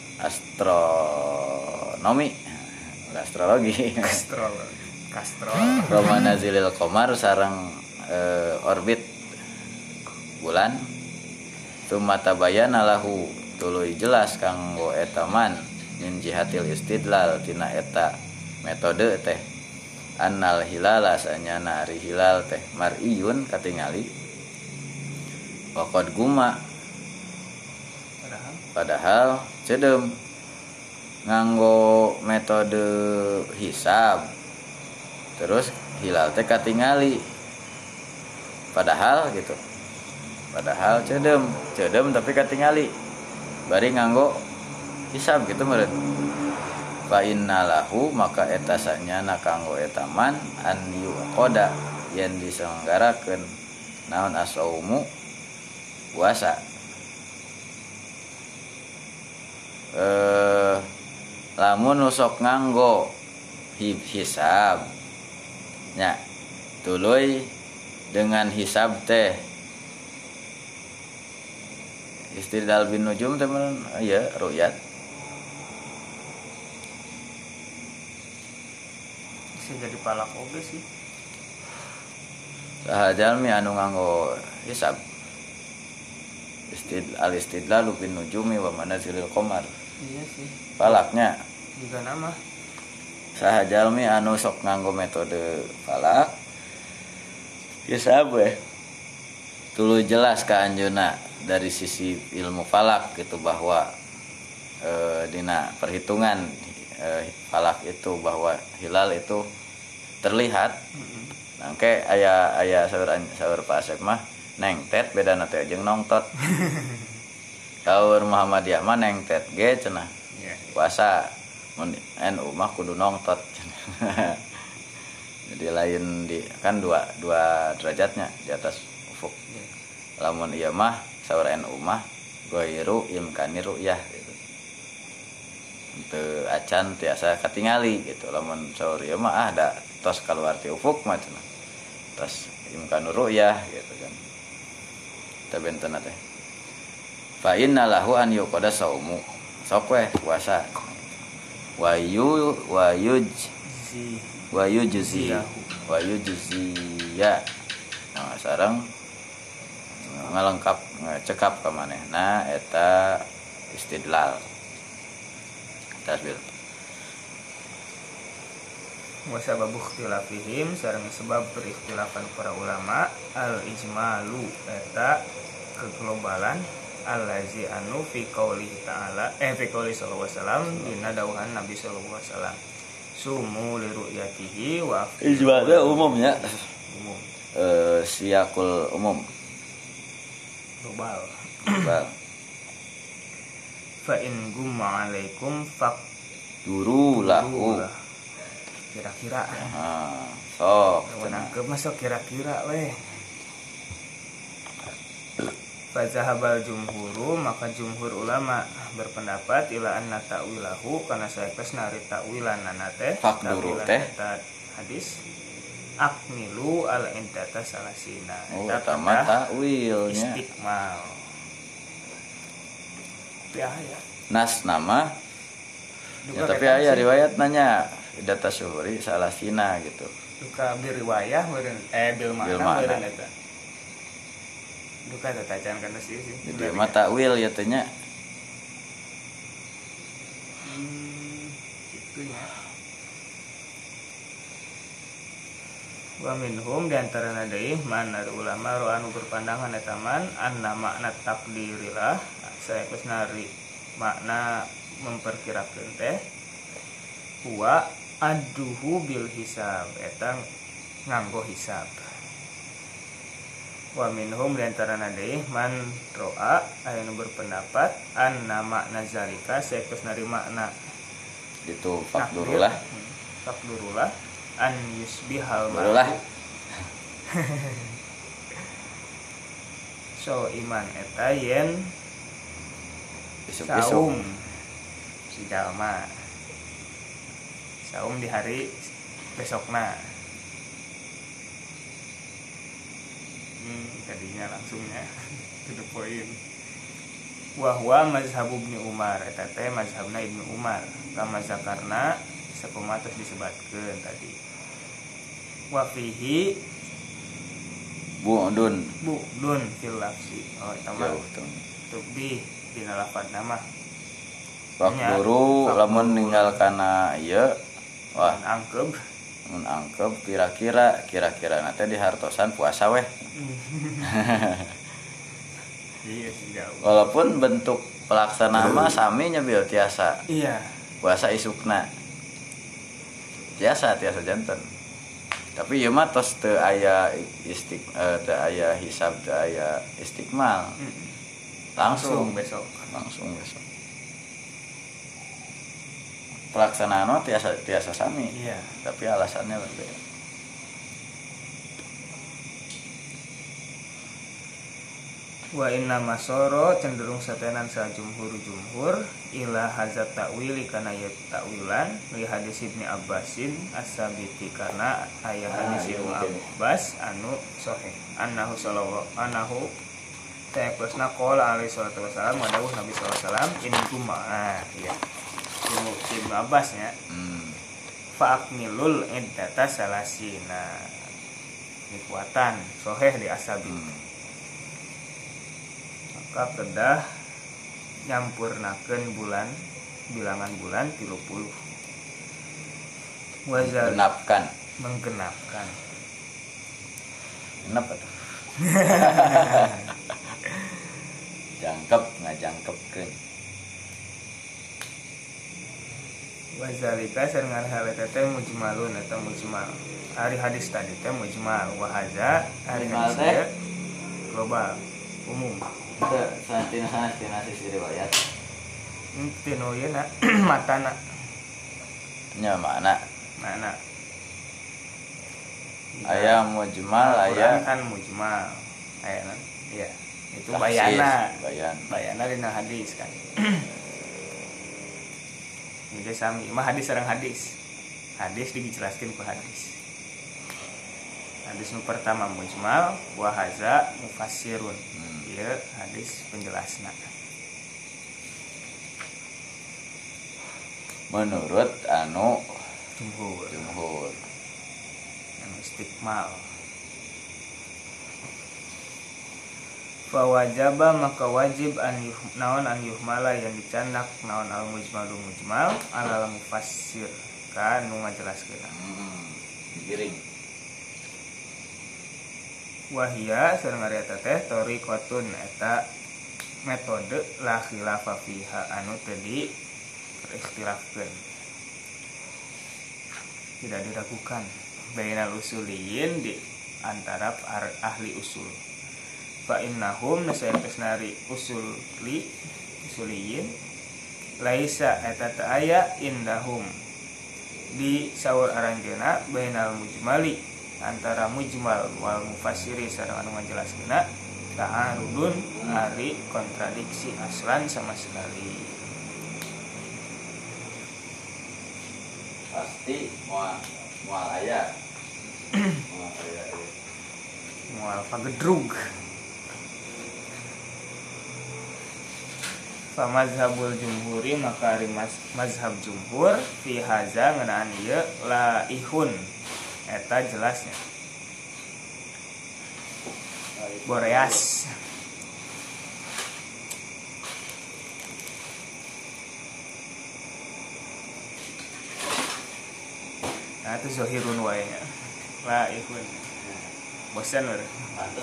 astronomi astrologi
astrologi kastro
romana zilil qamar sareng e, orbit bulan tumata bayana lahu tuluy jelas kanggo eta man min jihatil istidlal tina eta metode teh annal hilala sanyana ari hilal teh mar'iyun katingali waqad guma
padahal
padahal cedeum nganggo metode hisab terus hilal teh katingali padahal gitu padahal cedeum cedeum tapi katingali bari nganggo hisab gitu meureun fa innalahu maka eta sanyana kanggo eta man an yuqada yen diselenggarakeun naon asaumu puasa eh lamun sok nganggo hisab nya tuluy dengan hisab teh istidlal bin nujum teh mun aya ru'yat
bisa jadi palak oge sih
sahajalmi anu nganggo hisab istid al istidlal bin nujumi wa manazilil qamar
iya sih
falaknya
juga nama
sahajalmi anu sok nganggo metode falak Kisah apa? Tulu jelas ka anjeunna dari sisi ilmu falak gitu bahwa e, dina perhitungan e, falak itu bahwa hilal itu terlihat. Nangke aya aya saur saur Pak Asep mah neng tet beda teh jeung nongtot. Saur Muhammadiyah mah neng tet ge cenah. Puasa mun N U mah kudu nongtot. Jadi lain di kan dua dua derajatnya di atas ufuk. Lamun ieu mah saur N U mah goiru imkani ru'yah gitu. Teu acan tiasa katingali gitu. Lamun saur ieu mah ah da tos kaluar ti ufuk mah cenah. Tos imkanu ru'yah gitu kan. Teu benten teh. Fa inna lahu an yuqada saumu. Sok we puasa. Wa yu wa yuj wa yujzi wa yujziya. Nah, sareng ngalengkap ngecekap ka manehna eta istidlal. Tasbih.
Wa sababu ikhtilafihim sareng sebab berikhtilafan para ulama al ijmalu eta keglobalan allazi anu fi qouli ta'ala eh fi qouli sallallahu alaihi wasallam dina dawuhan Nabi sallallahu alaihi wasallam sumu li ru'yatihi wa
ijma'na umumnya
umum
eh siakul umum
global
global.
Fa in gumma alaikum faq
duru lahu
kira-kira
ah sok
nangkep masuk kira-kira weh. Fa zahabal jumhuru maka jumhur ulama berpendapat ila anna ta'wilahu kana saeus nari ta'wilanana teh
fakduru teh
hadis akmilu al indata salasina
oh eta mah ta'wilnya
istikmal ya ya
nas nama ya, tapi aya riwayat nanya data syuhuri salasina gitu
duka biriwayah meureun eh bil makna meureun eta duka tatacan kana sih sih
jadi mah ta'wil ya teh nya
hmm kitu ya. Wa minhum diantarana deui man ada ulama ro anu berpandangan eta man anna makna takdirilah saeus nari makna memperkirakeun teh huwa aduhu bil hisab eta nganggo hisab. Wa minhum diantarana deui man ro'a aya nu berpendapat anna makna zalika saeus nari makna
itu fakdurulah
fakdurulah an yusbihal
barulah
so iman eta yen
isuk-isuk
saum si jalma saum di hari besokna hmm tadinya langsungnya to the point wa huwa mazhab Ibnu Umar eta teh mazhabna Ibnu Umar kama zakarna sakumatos disebutkeun tadi wa fihi
bu'dun
bu'dun fil lafzi oh eta mah tubih dina lafaz nama
fakduru lamun ninggal kana ieu wah
angkeb
mun angkeb kira-kira kira-kira na teh dihartosan puasa weh
iya sih jauh
walaupun bentuk pelaksanaan mah sami nya bil tiasa
iya
puasa isukna tiasa tiasa janten tapi ieu mah tos teu aya istik eh, teu aya hisab teu aya istikmal langsung,
langsung besok
langsung besok pelaksanaan mah tiasa tiasa sami
iya
tapi alasannya berbeda.
Wa inna masoro cenderung satenan sa jumhur-jumhur ila hazat ta'wili kana ya ta'wilan li hadis Ibnu Abbasin as-sabiti kana aya hadis Ibnu Abbas anu sahih annahu sallallahu annahu ta'aqasna qala alaihi salatu wasalam wa dawuh Nabi sallallahu alaihi wasallam in kuma ah iya Ibnu Ibnu Abbas nya
hmm.
fa akmilul iddata salasina dikuatan sahih di asabi hmm. maka kedah nyampurnakeun bulan bilangan bulan tilu puluh wazal
menggenapkan
menggenapkan
Kenapa tuh? Jangkep ngajangkepkeun.
Wazalika sareng hal eta teh mujmalun eta mujmal. Ari hadis tadi teh mujmal wa hadza ari hadis teh global umum.
Itu santina santina sisi riwayat.
Tinu ieu na matana.
Nya mana?
Mana?
Aya mujmal, aya
kan mujmal. Aya kan? Iya. Itu
tahsis,
bayana.
bayan.
Bayana dina hadis kan. Jadi sami, mah hadis sareng hadis. Hadis dijelaskeun ku hadis. Hadis nu pertama mujmal, wa haza mufassirun. Hmm. Ieu hadis penjelasna.
Menurut anu
jumhur,
jumhur.
Anu istiqmal. Fa wajaba maka wajib an yuh, naon an yuhmala yang dicandak naon al mujmal du mujmal ala mufassir kan nu ngajelaskeun.
Hmm. Giring.
Wahia sareng ari eta teh tariqatun eta metode la khilafa fiha anu teu di ikhtilafkeun. Tidak diragukan bainal usuliyin di antara ahli usul. Fa innahum nasayakasnari usuli usuliyin laisa eta teu aya indahum di saur aranjeuna bainal mujmali antara mujmal wal mufassiri sareng anu ngajelaskeunna ta'arudun ari kontradiksi aslan sama sekali.
Pasti moal moal aya. Moal aya.
Moal pagedrug. Fa mazhabul jumhuri maka ari mazhab jumhur fi haza ngeunaan ieu laihun eta jelasnya boreas. Nah itu zohirun wae nya laihun bosan lur
Pantes.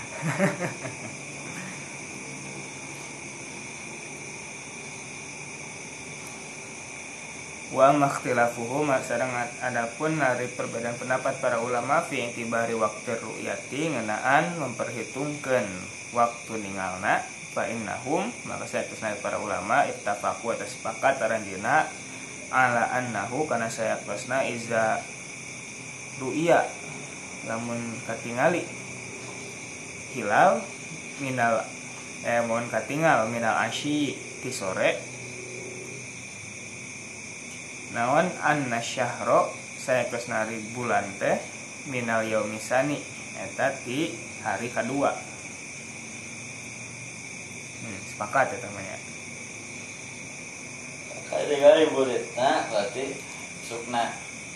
Wa makhtilafuhum sareng adapun dari perbedaan pendapat para ulama fi intibari waqti ru'yati ngeunaan memperhitungkeun waktu ningalna fa innahum maka saeueusna para ulama ittafaqu atas sepakat aranjeuna ala annahu kana saeueusna iza ru'ya lamun katingali hilal minal eh mohon katingal minal asyi ti sore naon anna syahro saeueusnari bulan teh minal yaumisani eta ti hari kedua. Hmm, sepakat eta mah nya.
Kali-kali buritna berarti sukna.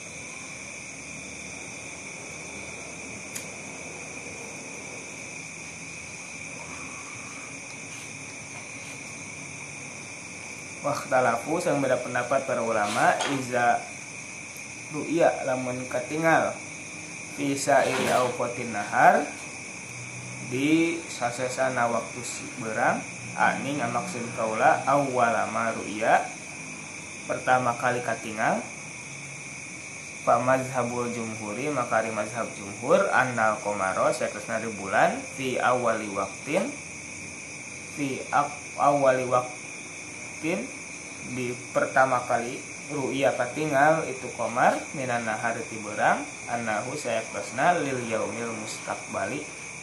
Wakhtalafu sang beda pendapat para ulama iza ru'ya lamun katingal fi sa'iri awqatin nahar di sasesana waktu berang ani ngamaksud kaula awwalama ru'ya pertama kali katingal fa mazhabul jumhuri maka ari mazhab jumhur annal qamara saeueusna di bulan fi awwali waqtin fi awwali waqtin di pertama kali ru'ya katingal itu qamar minan nahar ti beurang annahu saeueusna lil yaumil mustaqbali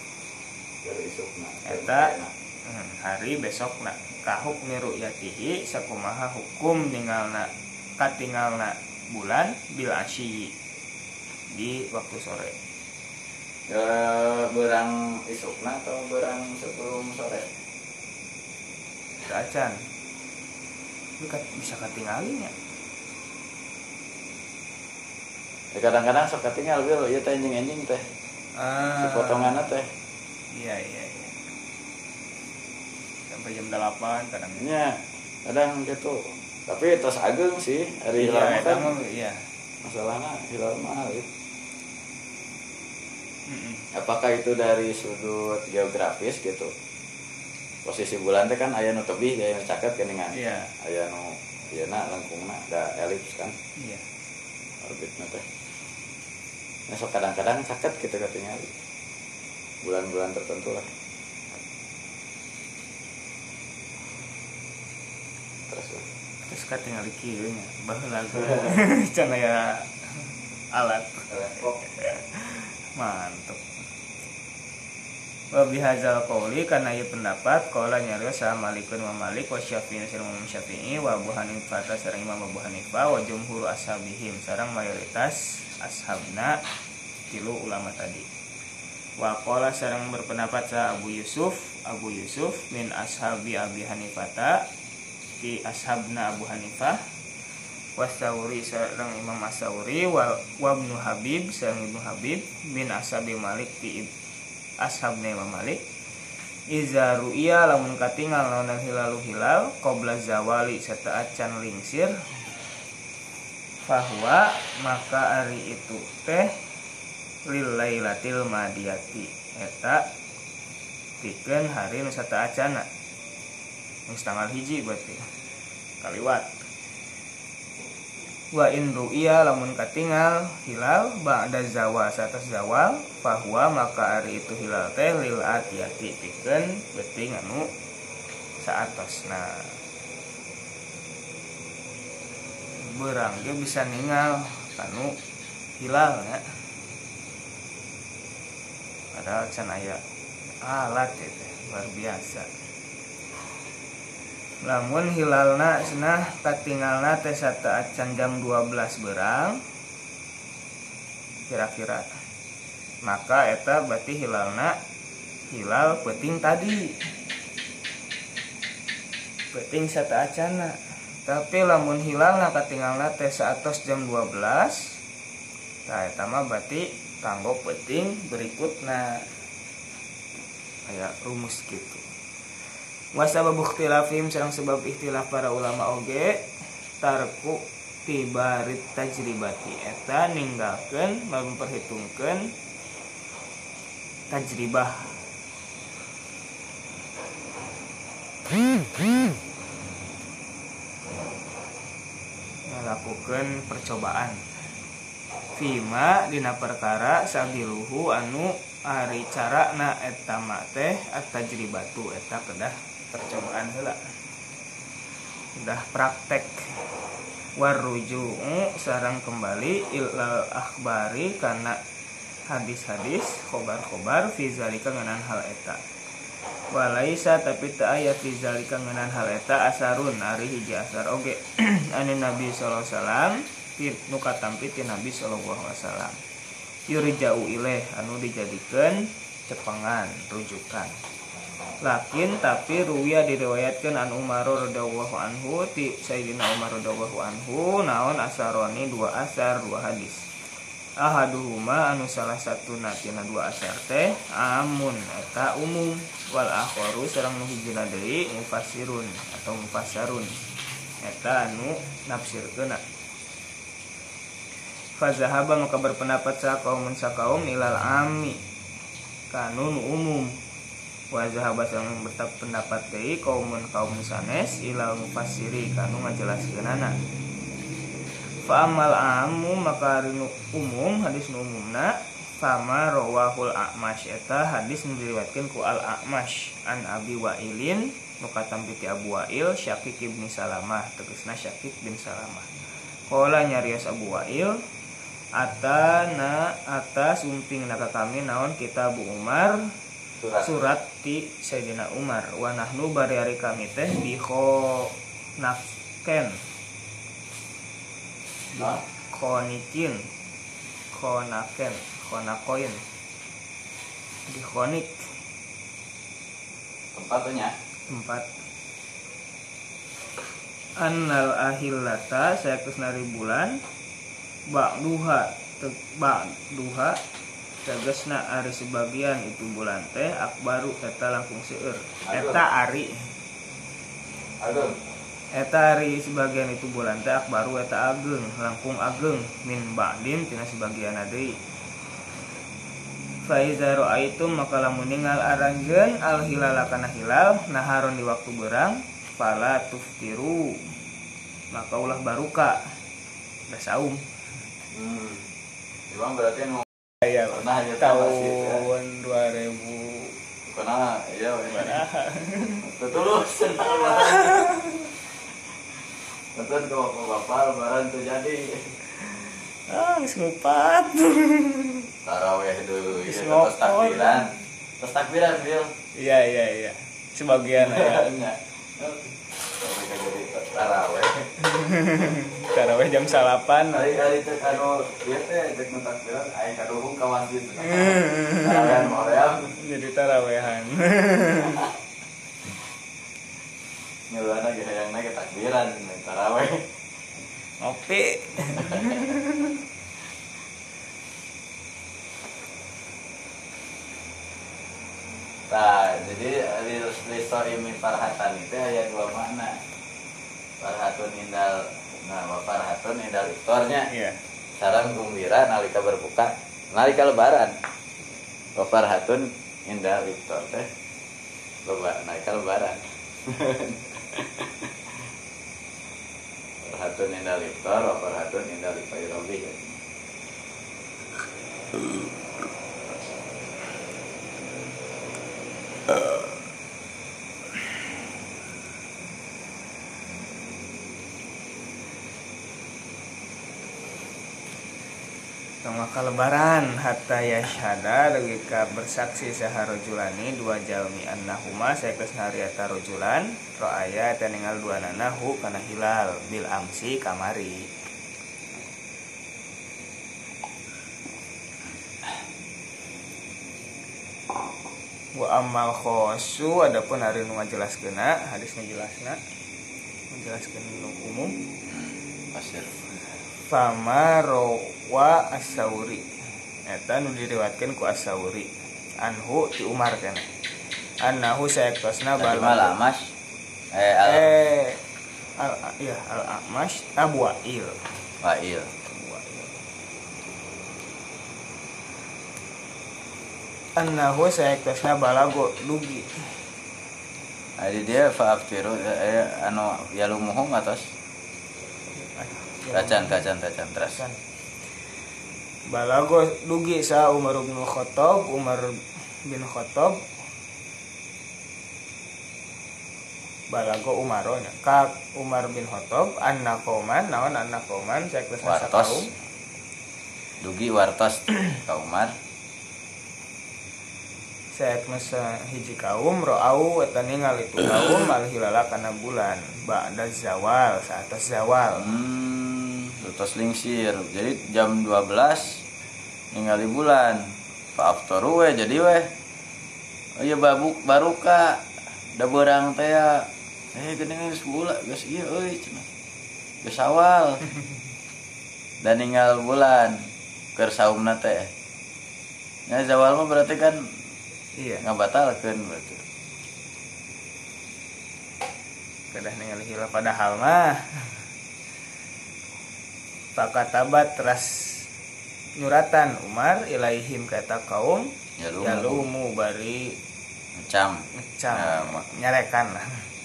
eta hari besokna ka hukmi ru'yatihi sakumaha hukum ningalna katingalna bulan bil asyi di waktu sore.
Ya beurang isukna atau beurang sebelum sore?
Acan bisa katinggalinya.
Ya, kadang-kadang sok katinggal bil ieu teh enjing-enjing teh.
Ah.
Si potonganna teh.
Iya iya iya. Sampai jam delapan kadang.
Nya, kadang gitu. Tapi tos ageng sih hari hilal
iya,
kan.
Iya.
Masalahna hilal mah gitu. Apakah itu dari sudut geografis gitu? Posisi bulan teh kan aya nu tebih aya nu caket geuningan.
Iya.
Aya nu yeuna lengkungna da elips kan.
Iya.
Orbitna teh. Nah, so kadang-kadang caket gitu katanya. Bulan-bulan tertentu lah. Terus lah.
Terus katingal kieu nya baheula can aya alat. Mantap. Wa bihadzal qouli kana ieu pendapat qala nyarios sa Malikun wa Malik wa Syafi'i sareng Imam Syafi'i wa Abu Hanifah sareng Imam Abu Hanifah wa jumhur ashabihim sareng mayoritas ashabna tilu ulama tadi. Wa qala sareng berpendapat sa Abu Yusuf Abu Yusuf min ashabi Abi Hanifah ti ashabna Abu Hanifah Wasauri sareng Imam As-Sauri wa Ibnu Habib sareng Ibnu Habib min ashabi Malik ti ashabna Imam Malik iza ru'iya lamun katingal naon hilalu hilal qabla zawali sarta acan lingsir bahwa maka ari itu teh lil lailatil madiyati eta pikeun hari nu sata acana geus tanggal hiji berarti kaliwat. Wa in ru'iya lamun katingal hilal ba'da zawal satas zawal bahwa maka ari itu hilal teh lil atiyati pikeun beuting anu saatosna. Beurang ge bisa ningal kanu hilal nya. Padahal can aya alat itu luar biasa. Lamun hilalna cenah katingalna teh sata acan jam dua belas beurang kira-kira. Maka eta berarti hilalna hilal peuting tadi. Peuting sata acana. Tapi lamun hilalna katingalna teh saatos jam dua belas. Tah eta mah berarti kanggo peuting berikutna. Aya rumus gitu. Wasabab ikhtilafim sareng sebab ikhtilaf para ulama oge tarku tibarit tajribati eta ninggalkeun memperhitungkeun tajribah melakukan percobaan fima dina perkara sabiluhu anu ari carana eta mah teh at-tajribatu eta kedah percobaan heula udah praktek waruju'u sareng kembali ilal akhbari kana hadis-hadis khobar-khobar fi zalika ngeunaan hal eta walaisa tapi teu aya fi zalika ngeunaan hal eta asarun ari hiji asar oge anu Nabi sallallahu alaihi wasallam nu katampi ti Nabi sallallahu alaihi wasallam yurja'u ilaih anu dijadikeun cepengan rujukan. Lakin tapi ruwiya diriwayatkeun an Umar radhiyallahu anhu ti Sayyidina Umar radhiyallahu anhu naon asaroni dua asar dua hadis. Ahaduhuma anu salah satuna tina dua asar teh amun eta umum wal akharu sareng nu hijina deui mufassirun atau mufassarun eta anu nafsirkeun. Fazahaba maka berpendapat sa kaumun sakaum ilal ami kanun umum wa zahaba sang berpendapat deui kaumun kaum sanes ilal mufassiri kanu ngajelaskeunana. Fa amal amu maka rinu umum hadis nu umumna fama rawahul a'mash eta hadis nu diriwayatkeun ku al a'mash an abi wa'ilin nu katampi ti Abu Wa'il Syaqiq bin Salamah tegasna Syaqiq bin Salamah qala nyarios Abu Wa'il atana atas umping naka kami naon kitab Umar surat, surat ti Sayyidina Umar wa nahnu bari ari kami teh bi kho nafken khonikin khonaken khonakoin di khonik
tempatnya
tempat annal ahillata saya kusnari bulan bak duha bak duha tegasna ari sebagian itu bulan teh akbaru eta langkung seueur eta ari ageng eta ari sebagian itu bulan teh akbaru eta ageng langkung ageng min ba'din tina sebagian deui Faiza ra'aitum maka lamun ningal aranjeun al hilala kana hilal naharon di waktu berang fala tuftiru maka ulah baruka da saum.
Hmm. Memang berarti nu
Aya
pernah ya
tahun dua ribu
pernah iya we. Tetulus. Betul kok bapak lebaran tuh jadi.
Ah, geus ngupat.
Taraweh dulu
Geus
ya terus
ngopot.
takbiran. Terus takbiran, Bil.
Iya iya iya. Sebagian aya.
Enggak. Sampai jadi taraweh.
Taraweh jam salapan.
Kali-kali teh anu ieu teh cek nu takbiran aya kaduhung ka masjid. Tarawehan moream.
Jadi tarawehan.
Ngeulana ge hayangna ge takbiran taraweh.
Ngopi.
Nah, jadi liso imi farhatan itu aya dua makna. Farhatun indal, nah farhatun indal iftarnya.
Iya.
Sareng gembira nalika berbuka, nalika lebaran. Wa farhatun indal iftar teh loba nalika lebaran. Farhatun indal iftar wa farhatun indal ifairobi.
Maka lebaran hatta yashhada logika bersaksi saharojulani dua jalmi annahuma saekeus nariata rojulan roaya eta ningal dua nanahu kana hilal bil amsi kamari. Wa amal khosu adapun hari nu ngajelaskeuna hadis ngajelasna menjelaskeun nu umum
Pasir.
fama rawa as-sauri eta nu diriwayatkeun ku as-sauri anhu ti Umar kana annahu sayaktosna
Bal
bal
Amash eh al
eh al ya al Amash Abu Wa'il
Wa'il.
annahu sayaktosna balago dugi
Adi dia faaftiru eh, anu yalumuhum atas tacan tacan tacan terus.
Balago dugi sa Umar bin Khattab Umar bin Khattab balago Umaronya ka Umar bin Khattab anna qauman naon anna qauman saektosna kaum
dugi wartos ka Umar
saektosna hiji kaum ro'au eta ningali itu kaum al hilala kana bulan ba'da zawal saatas zawal.
hmm terus lingsir jadi jam dua belas ningali bulan faaftaru we jadi we oh iya babuk baruka da beurang teh ya eh geuningan sebulan geus ieu euy cenah geus awal dan ninggal bulan keur saumna teh nya zawal mah berarti kan
Iya
ngabatalkeun berarti
kedah ningali hilal padahal mah fakatabat teras nyuratan Umar ilaihim kata kaum
Yalumu.
yalumu bari
macam
ngecam
Ya, ma-
nyarekan lah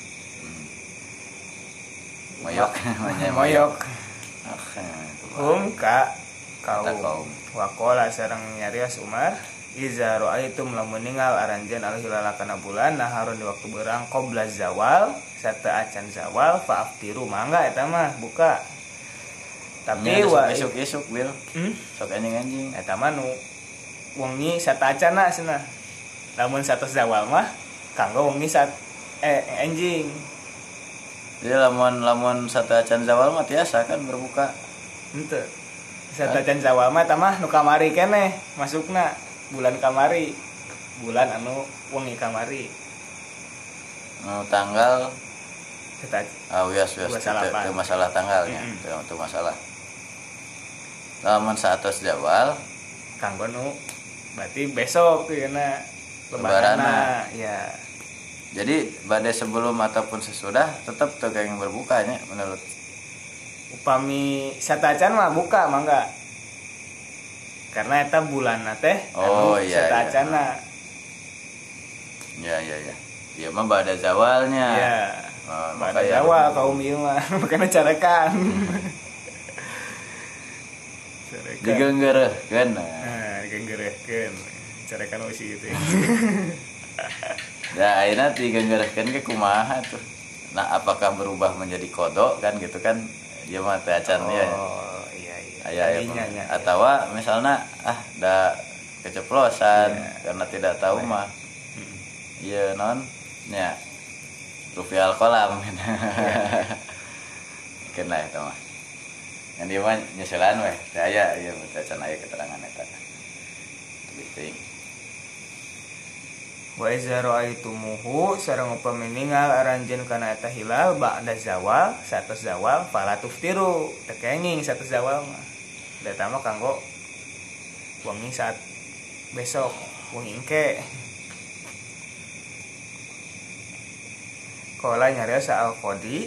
moyok
moyok
ah itu
hum ka
Kata
kaum
kaum.
wakola sareng nyarios Umar iza ra'aitum lamun ningal aranjeun al hilala kana bulan naharun di waktu beurang qabla zawal sata acan zawal faaftiru mangga eta mah buka tapi wa
isuk-isuk bil
hmm?
sok anjing-anjing
eta mah nu wengi sata acana cenah lamun satos zawal mah kanggo wengi sat eh anjing
jadi lamun lamun satu acan zawal mah tiasa kan berbuka
henteu sata acan zawal mah eta mah nu kamari keneh masukna bulan kamari bulan anu wengi kamari
nu tanggal
sata
ah wias wias
dua salapan.
itu masalah tanggalnya
Mm-mm.
itu itu masalah lamun satus zawal
kanggo nu berarti besok tuh na
Lebaranna.
ya
jadi badai sebelum ataupun sesudah tetap tuh kayak yang berbukanya menurut
upami satacan mah buka mangga karena eta bulan teh
oh iya
seta
iya
acana.
Ya ya ya. Ya mah bada zawalnya.
Iya.
Oh,
Bada zawal kaum ieu mah makana carekan. Carekan.
Digenggereuhkeun.
Nah, digenggereuhkeun. Carekan we si gitu.
Ya ayeuna digenggereuhkeun ge kumaha tuh. Nah, apakah berubah menjadi kodok kan gitu kan? Ieu mah teh acan ya.
Oh, iya iya.
Aya
Tadinya, ya,
atawa misalnya ah da keceplosan
Iya.
karena tidak tahu
Iya.
mah. Iya non nya rupiah kolam. Kena eta mah. Yang dia mah nyeselan weh. Teh aya ieu teh acan aya keterangan eta. Penting.
Wa iza ra'aitumuhu sareng upami ningal aranjeun kana eta hilal ba'da zawal satos zawal fala tuftiru teu kenging satos zawal mah da eta mah kanggo wengi saat besok wengi engke qala nyarios al qadi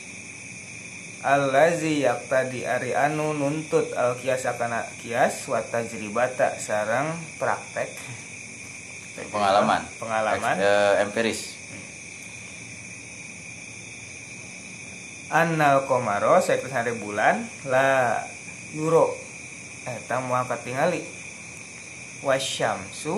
allazi yaqtadi ari anu nuntut al qiyas kana qiyas wa tajribata sareng praktek
Pengalaman.
Pengalaman.
Eks, eh, empiris.
Annal komaro saeukeuh hari bulan la yuro eta moal katingali wasyamsu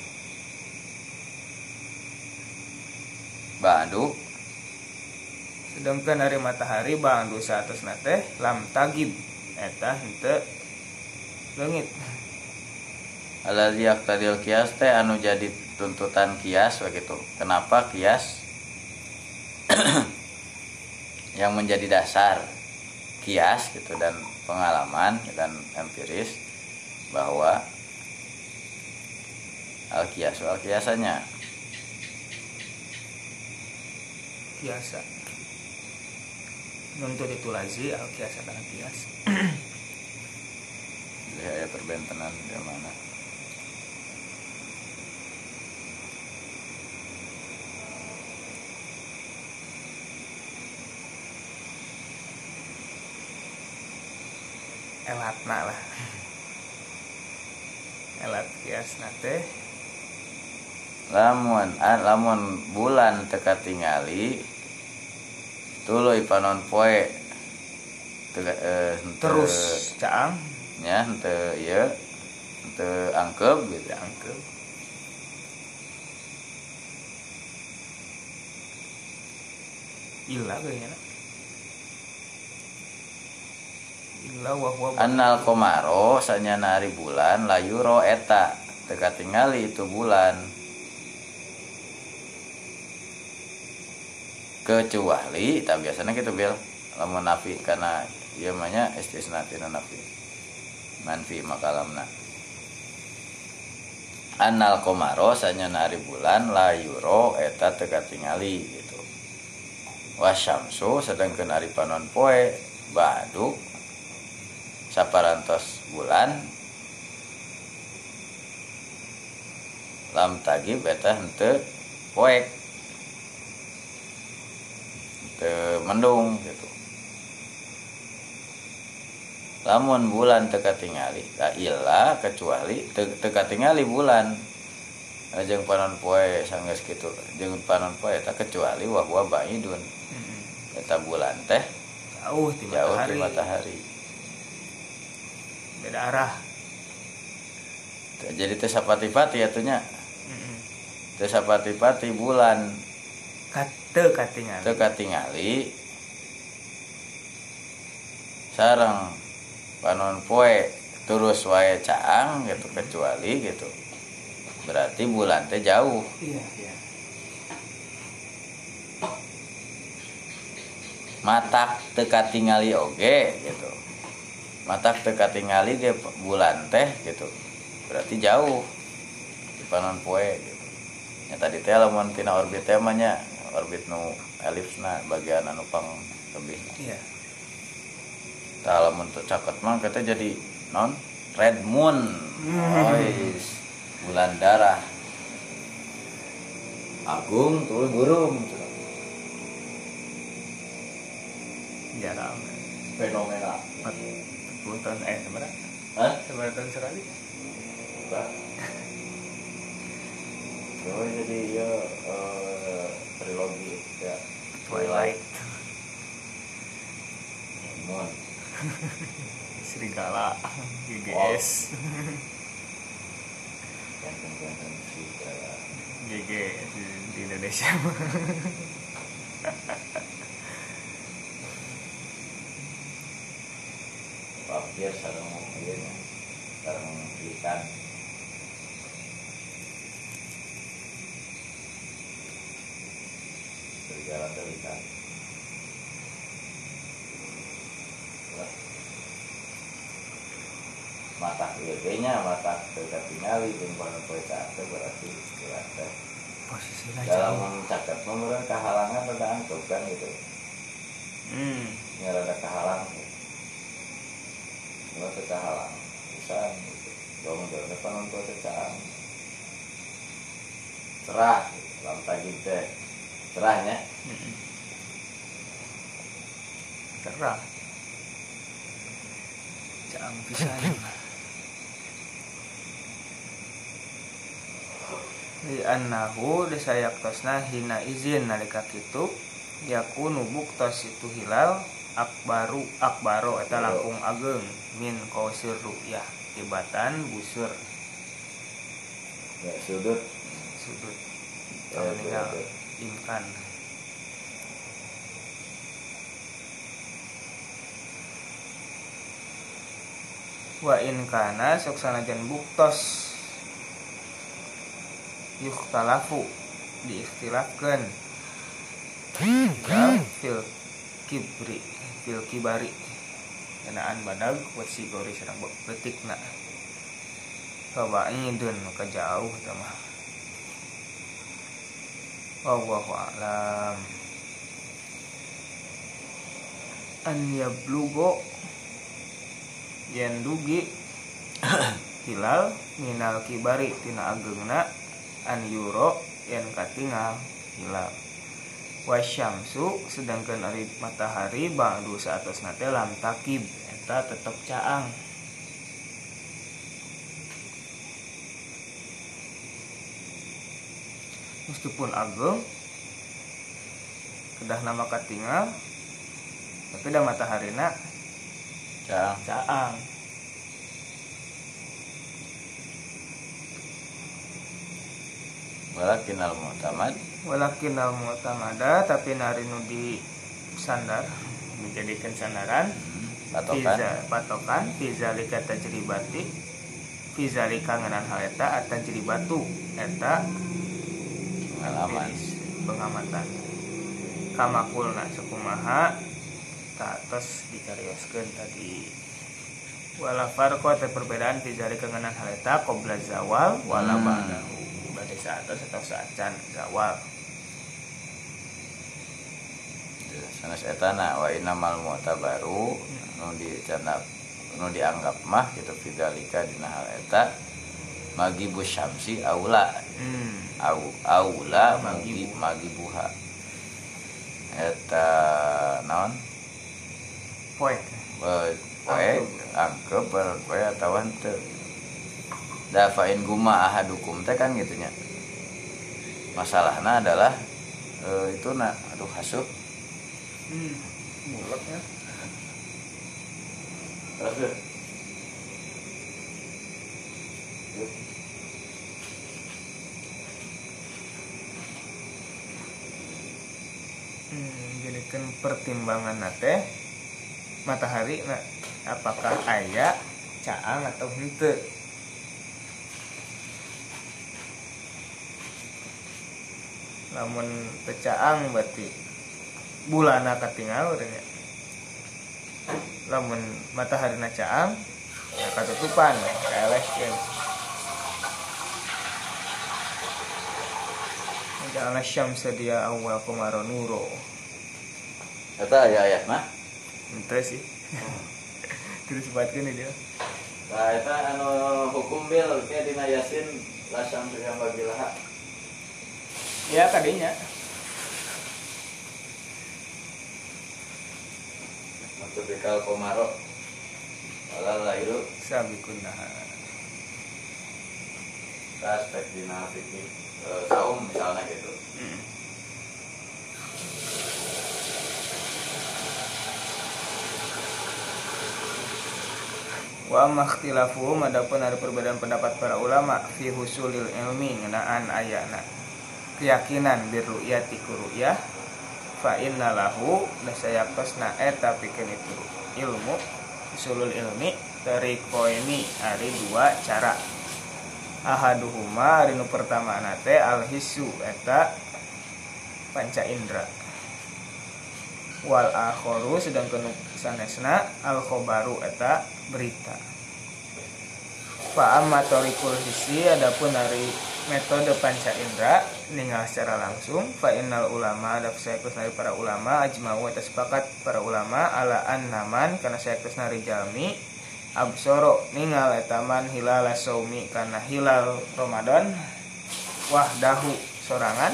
Badu
sedangkan hari matahari bangdu saatosna teh lam tagib eta henteu leungit.
Alladzi yaqtadil qiyas teh anu jadi tuntutan qiyas begitu. Kenapa qiyas yang menjadi dasar qiyas gitu dan pengalaman dan empiris bahwa al qiyas al qiyasannya
Kiasa nuntut itu lazi al kiasa kana kias.
ya perbentenan di mana
Elatna lah. Elat kias nate
lamun ah, lamun bulan teka tingali tuluy panon poe teka, eh, henteu-
terus caang
nya henteu ieu henteu angkep gitu
angke illa kayaknya illa wa huwa
annal komaro sanyana ari bulan layuro eta teka tingali itu bulan kecuali tak biasanya gitu bil lamun nafi karena ieu mah nya istisna tina nafi manfi makalamna annal komaro sanyana ari bulan layuro eta teka tingali gitu wasyamsu sedangkeun ari panon poe badu saparantos bulan lam tagib eta henteu poek henteu mendung gitu. Lamun bulan teu katingali ka illa kecuali teu katingali bulan jeung panon poe sanggeus kitu jeung panon poe eta kecuali wa huwa baidun eta bulan teh
jauh ti
jauh
matahari.
ti matahari
Beda arah.
jadi teu sapati-pati atunya
Heeh.
teu sapati-pati bulan
Kate katingali.
teu katingali sareng panon poe terus wae caang gitu kecuali gitu berarti bulan teh jauh
Iya, iya.
matak teu katingali oge gitu matak teu katingali ge bulan teh gitu berarti jauh di panon poe gitu nya tadi teh lamun tina orbit teh mah nya orbit nu elipsna bagian anu pang lebih
Iya.
tah lamun teu caket mah kita jadi non red moon ois bulan darah agung turun burung
Jarang.
fenomena
empat puluh tahun eh sebenarnya
hah
sebenarnya tahun sekali
Pak. Oh jadi ya uh, trilogi ya
Twilight.
Moon.
Serigala, G G S.
Ganteng-ganteng serigala.
G G di, di Indonesia.
Papir sareng ieu sareng ikan. Serigala teh ikan. Mata ieu mata teu tingali jeung pada poe teh berarti berarti
Posisinya
dalam caket meureun kahalangan rada angkep kan gitu.
Hmm.
Nya rada kahalang. Kalau teu kahalang pisan gitu. Dong depan untuk cecaan. Cerah lam tagih teh. Cerahnya.
Hmm. Cerah. Caang pisan. Li annahu desayaktosna hina izin nalika kitu yakunu buktos itu hilal akbaru akbaro eta langkung ageng min qausir ru'yah tibatan busur
Ya sudut
sudut
Ya,
terminal
sudut.
imkan. Wa in kana sok sanajan buktos yukhtalafu diikhtilafkeun ya fil kibri fil kibari kenaan badag wasi gori sareng betikna kawaidun maka jauh teh mah wallahu a'lam an yablugo yen dugi hilal minal kibari tina ageungna an yuro yen katingal hilal wasyamsu sedangkan ari matahari ba'du saatosna teh lam takib eta tetep caang. Meskipun ageung kedah nama katingal tapi da mataharina
caang.
caang.
Walakin al mu'tamad
Walakin al mu'tamada tapi nari nu di sandar dijadikan sandaran
patokan
Fiza, patokan fizalika tajribati fizalika ngenan hal eta atajribatu eta
pengalaman
iris pengamatan kamakulna sakumaha tatos dicarioskeun tadi wala farqo teh perbedaan fizalika ngenan hal eta qabla zawal wala
Hmm.
ba'dahu bade saatos atau saacan zawal.
sanes etana wa innamal mu'tabaru nu dicanap nu dianggap mah gitu fidzalika dina hal eta magibus syamsi aula
Hmm.
au aula
Magibu.
magi magibuha eta naon
Poek.
poe poe angkep poe atawa henteu da fa in guma ahadukum teh kan gitu nya masalahna adalah e, itu na aduh hasup
Hmm. Mulek ya.
terus
Hmm, jadikan pertimbangan teh matahari na apakah aya caang atau henteu. Lamun teu caang berarti bulana katingal urang nya. Lamun matahari na caang ya katutupan kaelehkeun. Ja'alna syamsa dia awal qamara nuro.
eta aya ayatna
Henteu sih. Terus sebutkeun dia.
nah eta anu hukum bil ke dina yasin la syamsu yang bagilaha
Ya tadinya.
maksud bikal komaro wala lailu
Sabikun nahar.
aspek dina fikih e, saum misalnya gitu.
Hmm. Wa makhtilafuhum, adapun ada perbedaan pendapat para ulama fi husulil ilmi ngenaan ayana keyakinan birru'yati kuru'yah fa inna lahu dasayakosna eta pikeun itu ilmu usulul ilmi tariqoini ari dua cara. Ahaduhuma ari nu pertama nate al hissu eta panca indra, wal akharu sedangkan sanesna al khobaru eta berita. Fa amma tariqul hissi, adapun dari metode panca indra ninggal secara langsung, fa innal ulama ada sayakus dari para ulama ajma'u eta sepakat para ulama ala annaman kana sayakus nari jalmi absoro ningal etaman hilal saumi kana hilal Ramadan wahdahu sorangan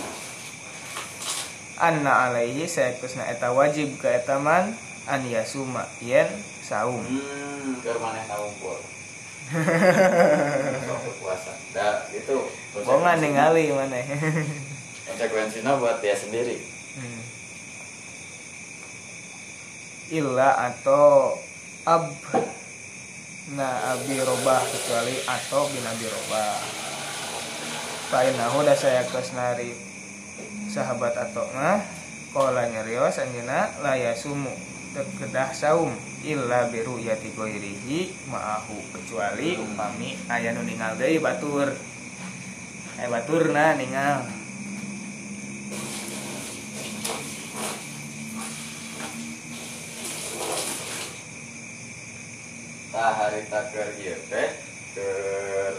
anna alaihi sayakusna eta wajib ka etaman an yasuma yen saum.
Hmm, keur maneh ngumpul. Sok puasa. Da itu
bongan ningali maneh.
Konsekuensinya buat dia sendiri.
Hmm. Illa atau ab na abi robah, kecuali atau bin abi robah. Fainahu da sayakus nari sahabat atau mah qala nyarios anjeunna la yasumu terkedah saum illa biru yati goirihi ma'ahu, kecuali upami aya nu ningal deui batur aya baturna ningal.
Tah harita keur ieu teh keur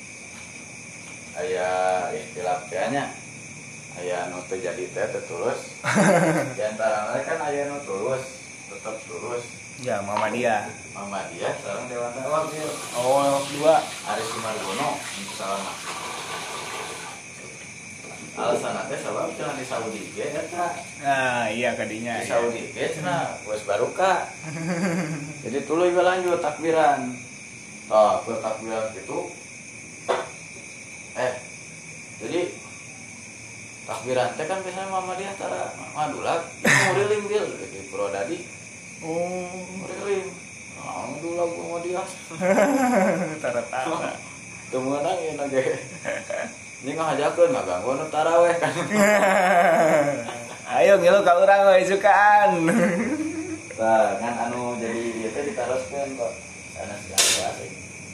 aya istilah teh nya aya nu teu jadi teh teu tulus. Di antara mereka kan aya nu tulus tetap tulus
Ya, Muhammadiyah.
Muhammadiyah sekarang Dewan Dakwah sih.
Oh, dua.
Aris Sumargono untuk salaman. Alasan teh sabab cenah di Saudi ge eta.
Nah, iya kadinya.
Di Saudi ge cenah wes baruka. Jadi tuluy we lanjut takbiran. Tah, ke takbiran gitu. Eh. Jadi takbiran teh kan biasanya Muhammadiyah tara madulak, muriling bil di Purwodadi.
Oh,
muriling. Alhamdulillah Muhammadiyah.
Tara-tara.
Teu meunang ieu ge. Ini ngajakeun ngaganggu nu taraweh kan.
Ayo ngilu ka urang we sukaan.
Tah, ngan anu jadi ieu teh ditaroskeun kok. Sanes asing.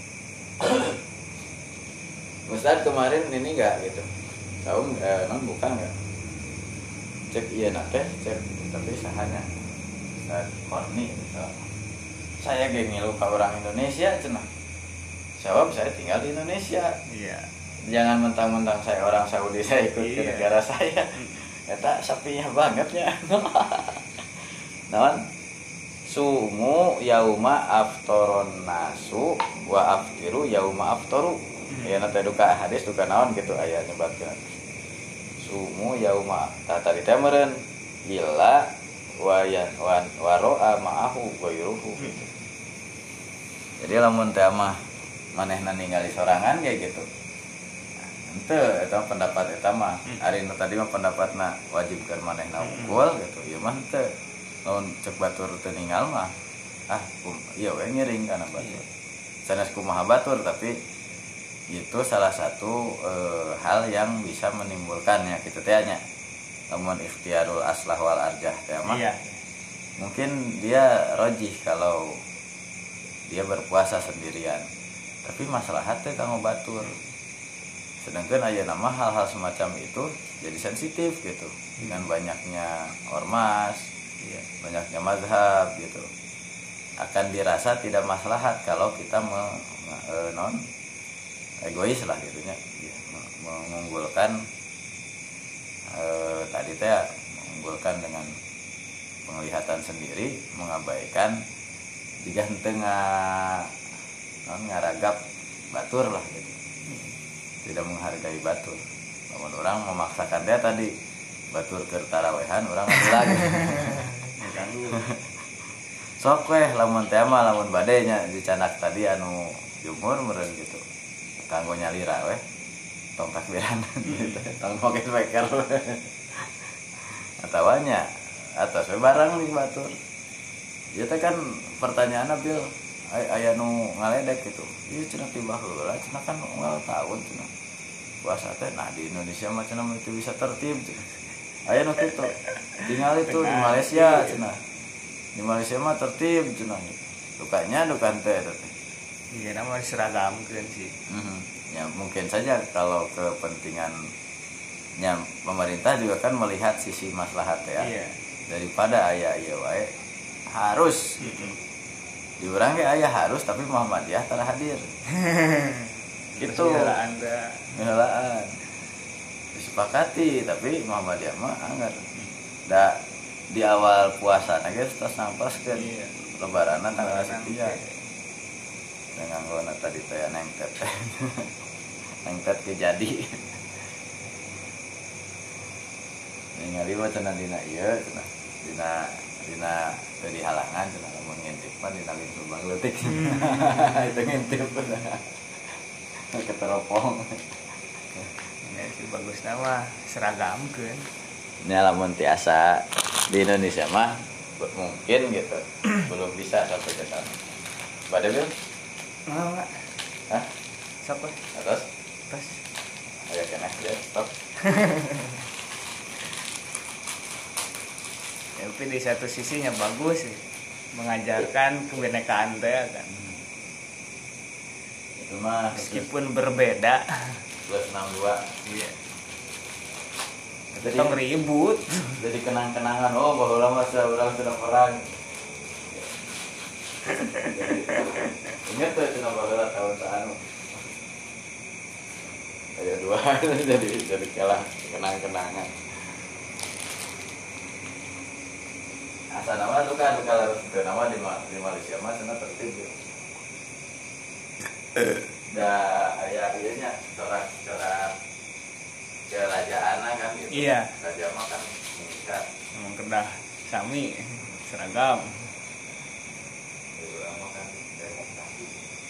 Ustaz kemarin ini enggak gitu. Saum eh, non bukan enggak. Cek ieu na teh, cek tapi sahana. Ustaz Korni misal. Saya ge ngilu ka urang Indonesia cenah. Jawab saya tinggal di Indonesia.
Iya.
Jangan mentang-mentang saya orang Saudi saya ikut
Iya.
ke negara saya. Eta sapinya bangetnya. Naon? Sumu yauma aftoron nasu wa aftiru yauma aftoru. Ya nanti duka hadis duka naon gitu aya nyebatkeun. Sumu yauma tah tadi teh meureun illa wa ya wa ro'a ma'ahu ghairuhu gitu. Jadi lamun teh mah manehna ningali sorangan kayak gitu. Ente eta pendapat eta mah ari nu tadi mah pendapatna wajibkeun manehna unggul gitu. Ieu mah teu lamun cek batur teu ningal mah ah kum ieu we ngiring kana batur. Sanes kumaha batur tapi itu salah satu e, hal yang bisa menimbulkannya gitu teh nya. Lamun ikhtiarul aslah wal arjah teh mah. Iya. Mungkin dia rojih kalau dia berpuasa sendirian. Tapi masalahnya teh kanggo batur. Sedangkan aya nama hal-hal semacam itu jadi sensitif gitu dengan banyaknya ormas, ya, banyaknya mazhab gitu. Akan dirasa tidak maslahat kalau kita me, e, non egois lah gitunya, ya, mengunggulkan e, tadi teh mengunggulkan dengan penglihatan sendiri, mengabaikan jika tengah non ngaragap batur lah gitu. Tidak menghargai batur. Namun orang memaksakan dia tadi batur ke tarawehan orang adu lagi. Sok weh lamun teh mah lamun bade nya dicanak tadi anu jumur meureun gitu. Kanggo nyalira weh. tong takbiran gitu tong pocket speaker atawanya atas barang nih batur ya teh kan pertanyaan Bil aya nu ngaledek gitu ieu cenah tiba heula cenah kan unggal tahun cenah puasa teh nah di Indonesia mah cenah itu bisa tertib cenah aya nu kitu tinggal itu di Malaysia cenah di Malaysia mah tertib cenah dukanya dukan teh teh
iya nama diseragamkeun sih
mm-hmm. Ya mungkin saja kalau kepentingannya pemerintah juga kan melihat sisi maslahat ya
iya. Daripada
aya ieu wae harus gitu di urang ge aya harus tapi Muhammadiyah tara hadir gitu helaan da helaan disepakati tapi Muhammadiyah mah anggar da di awal puasa na geus tos nampaskeun iya. Lebaran tanggal sekian dengan ngona tadi teh nengtet nengtet kejadi ningali mah cenah dina ieu cenah dina dina teu dihalangan cenah lamun ngintip mah dina lubang leutik itu ngintip keteropong
ya sih bagus nama seragamkeun
nya lamun tiasa di Indonesia mah mungkin gitu belum bisa sampai ke sana pada Bil
mau enggak
hah
siapa
atas
atas
aya kena ya stop
ya, tapi di satu sisinya bagus sih mengajarkan kebinekaan teh kan
itu mah
meskipun berbeda
plus enam puluh dua
iya
jadi
tong ribut
jadi kenang-kenangan oh bahwa lama saya orang sudah perang ingat tuh cina bahwa tahun seanu ada dua jadi jadi kalah kenang-kenangan asal nama tuh kan kalau ke nama di, di Malaysia mah sana tertib ya dah ayah ayahnya corak corak kerajaan kan gitu.
Iya.
Raja mah kan mengikat.
Emang kedah sami seragam.
Itu mah kan demokrasi.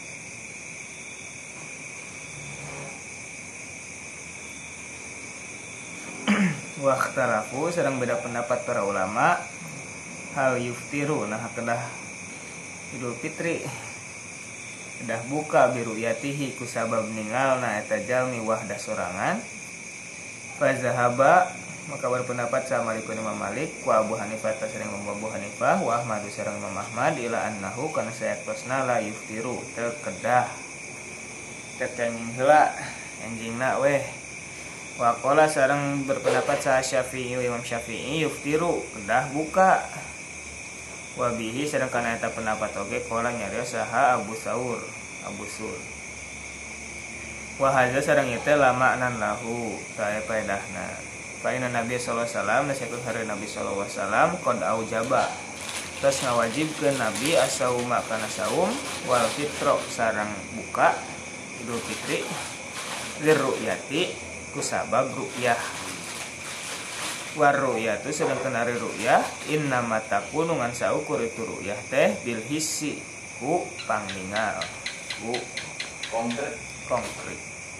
Waktarafu sedang beda pendapat para ulama hal yuftiru nah kedah Idul Fitri kedah buka biru yatihi kusabab ningalna eta jalmi wahdah sorangan fazahaba maka berpendapat sama Malikun Imam Malik ku Abu Hanifah tasring Abu Hanifah wa Ahmad sareng Imam Ahmad ila annahu kana sayakosna la yuftiru teu kedah teu kenging heula enjingna weh wa qala sareng berpendapat sa Syafi'i Imam Syafi'i yuftiru kedah buka wa bihi sareng kana eta pendapat oge qala nyarios saha Abu Saur Abu Sur wa hadza sareng ieu teh lama nan lahu tae paedahna fa inna nabiy sallallahu alaihi wasallam nasekut hari nabi sallallahu alaihi wasallam qad aujaba tos ngawajibkeun nabi asauma kana saum wal fitro sareng buka Idul Fitri liru'yati kusabab ru'yah war ru'yatu sedangkan ari ru'yah inna matakunu ngan saukur itu ru'yah teh bil hissi ku pangningal ku
konkret
konkret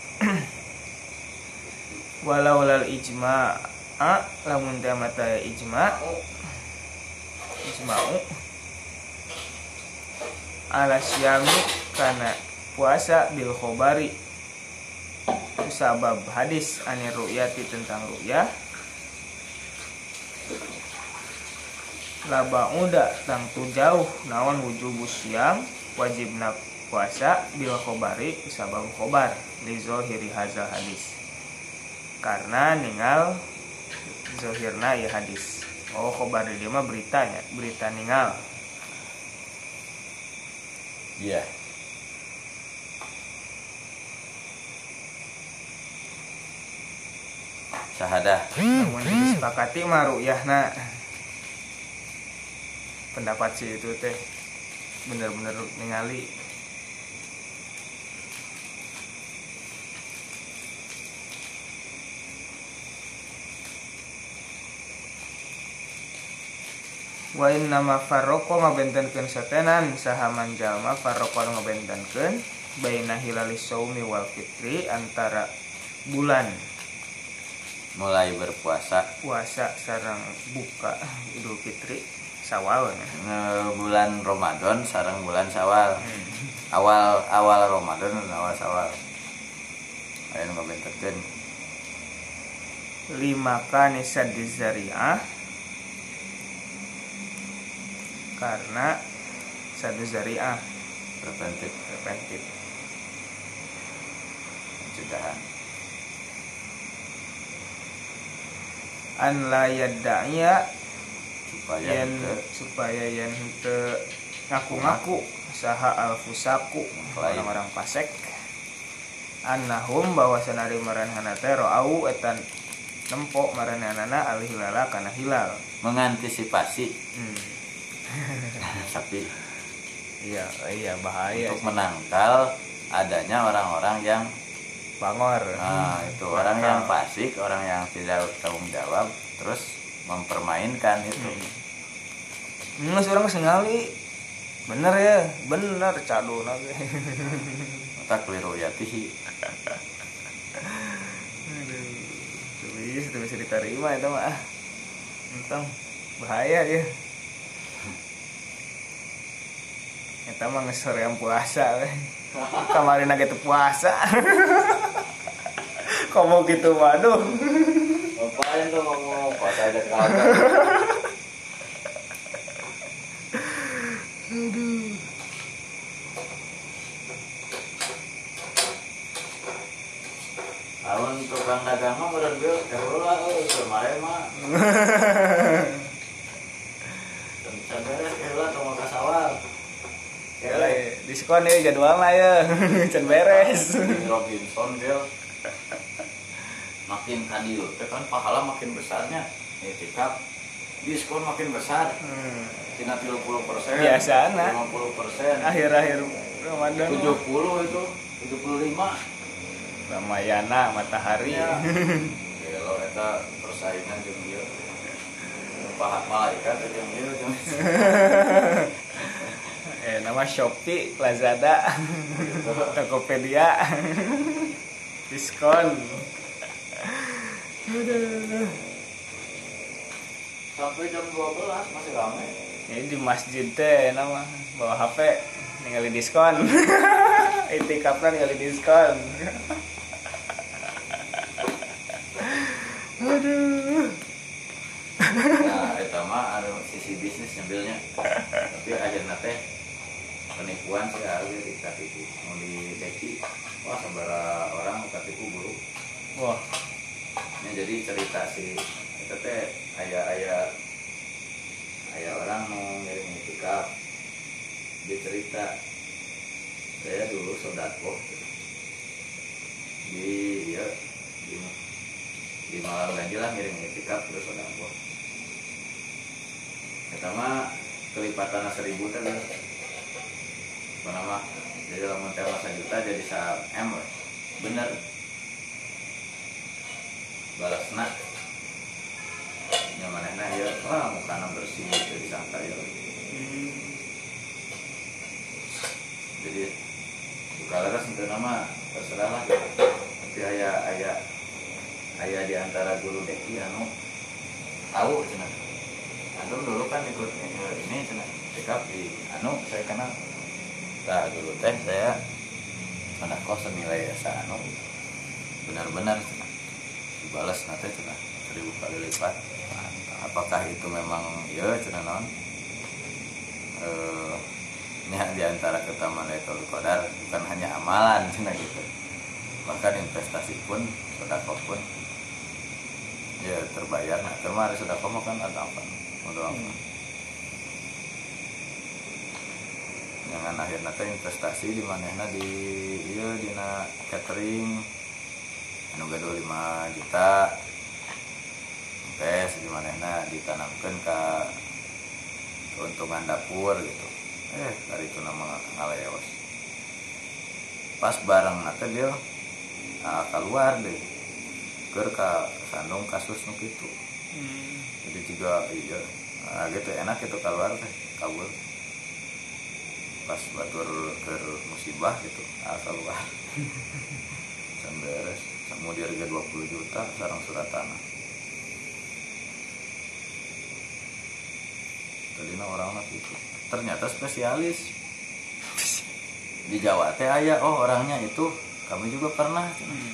walau lal ijma a lamun teh mata ijma ijma'u ala syami kana puasa bil khobari sabab hadis anir ru'yati tentang ru'yah laba uda tangtu jauh naon wujubus siam wajibna puasa bil khobari sabab khobar li zohiri hazal hadis karena ningal zohirna ya hadis oh khobar dia mah beritanya berita ningal
iya yeah. Sahadah
namun disepakati mah ru'yahna pendapat si itu teh bener-bener ningali wa inna ma farraqo ngabentenkeun satenan sahaman jalma farraqo ngabentenkeun baina hilalis saumi wal fitri antara bulan
mulai berpuasa
puasa sareng buka Idul Fitri Syawal ya.
Nge- bulan Ramadan sareng bulan Syawal.
Hmm.
awal awal Ramadan dan awal Syawal aya nu ngabenterkeun
Lima kani sadis zari'ah karena sadis zari'ah
preventif
preventif.
pencegahan.
An la yadda'iya
Supaya
yen
henteu
supaya yen henteu ngaku-ngaku saha alfusaku
Lain.
orang-orang fasik annahum bahwa sanari maranehana teh ro'au etan nempo maranehana al hilala kana hilal.
mengantisipasi
Hmm.
tapi
Iya, iya bahaya
untuk
sih.
menangkal adanya orang-orang yang
Bangor.
nah itu
Bakal.
orang yang fasik, orang yang tidak tanggung jawab terus mempermainkan itu.
Hmm, seorang sengali. Bener ya, bener cadona ge.
Mata keliru yatihi.
Aduh, tuh bisa, tuh bisa diterima itu mah. Entong bahaya ya. Eta mah geus soreang puasa we. Kemarin lagi teu puasa. Komo gitu waduh.
Ngapain tuh ngomong pas ada kagak.
Aduh.
Lawan tukang dagang mah bener bil kerola euy kemarin mah. Can beres kerola tong ka sawal.
Ya lah, diskon ya jadwal lah ya. Can beres.
Di Robinson bil. Makin kadil teh kan pahala makin besarnya. Etikap diskon makin besar.
Hmm.
Tina tiga puluh persen.
Biasana.
lima puluh persen.
Akhir-akhir Ramadan
tujuh puluh itu, tujuh puluh lima.
Ramayana matahari.
Ya. Gelo eta persaingan jeung ieu. Pahat malaikat jeung ieu jeung.
Eh nama Shopee, Lazada, Tokopedia. Diskon. Aduh.
Sampai jam dua belas masih ramai.
Ini di masjid teh nama bawa H P ningali diskon. Itikafna ningali diskon. Aduh.
Nah, eta mah anu sisi bisnis nyambilnya. Tapi akhirna teh penipuan sih harus dikatipu mau dideki. Wah, sabara orang katipu buruk.
Wah,
Ya, jadi cerita si itu teh aya-aya aya orang mau ngirim itikaf. Dia cerita saya dulu sodako di ya di, di malam ganjil lah ngirim itikaf terus sodako. Pertama kelipatan seribu teh apa nama jadi lamun teh juta jadi sa M bener balasna nyamanena ya wah mukana bersih jadi sangka ya jadi buka laras itu nama terserah lah tapi ayah ayah ayah di antara guru deki anu tahu cina antum dulu kan ikut ini cina sikap di anu saya kenal nah dulu teh saya ada kos senilai asa anu benar-benar cina dibalas nanti cina seribu kali lipat. Apakah itu memang ya cina non eh ini di antara keutamaan Lailatul Qadar bukan hanya amalan cina gitu, bahkan investasi pun sedekah pun ya terbayar. Nah kemarin sedekah mah kan ada apa modal apa jangan akhirnya teh investasi di manehna di ieu dina catering anu gaduh lima juta tes di manehna ditanamkeun ka keuntungan dapur gitu. Eh dari itu nama ngaleos pas bareng nanti dia nah, keluar deh keur ka sandung kasus nu kitu hmm. Jadi juga iya nah, gitu enak itu keluar teh kabur pas batur keur musibah gitu nah, keluar can beres mau di harga dua puluh juta sarang surat tanah. Tadinya orang itu ternyata spesialis di Jawa teh aya, oh orangnya itu kami juga pernah.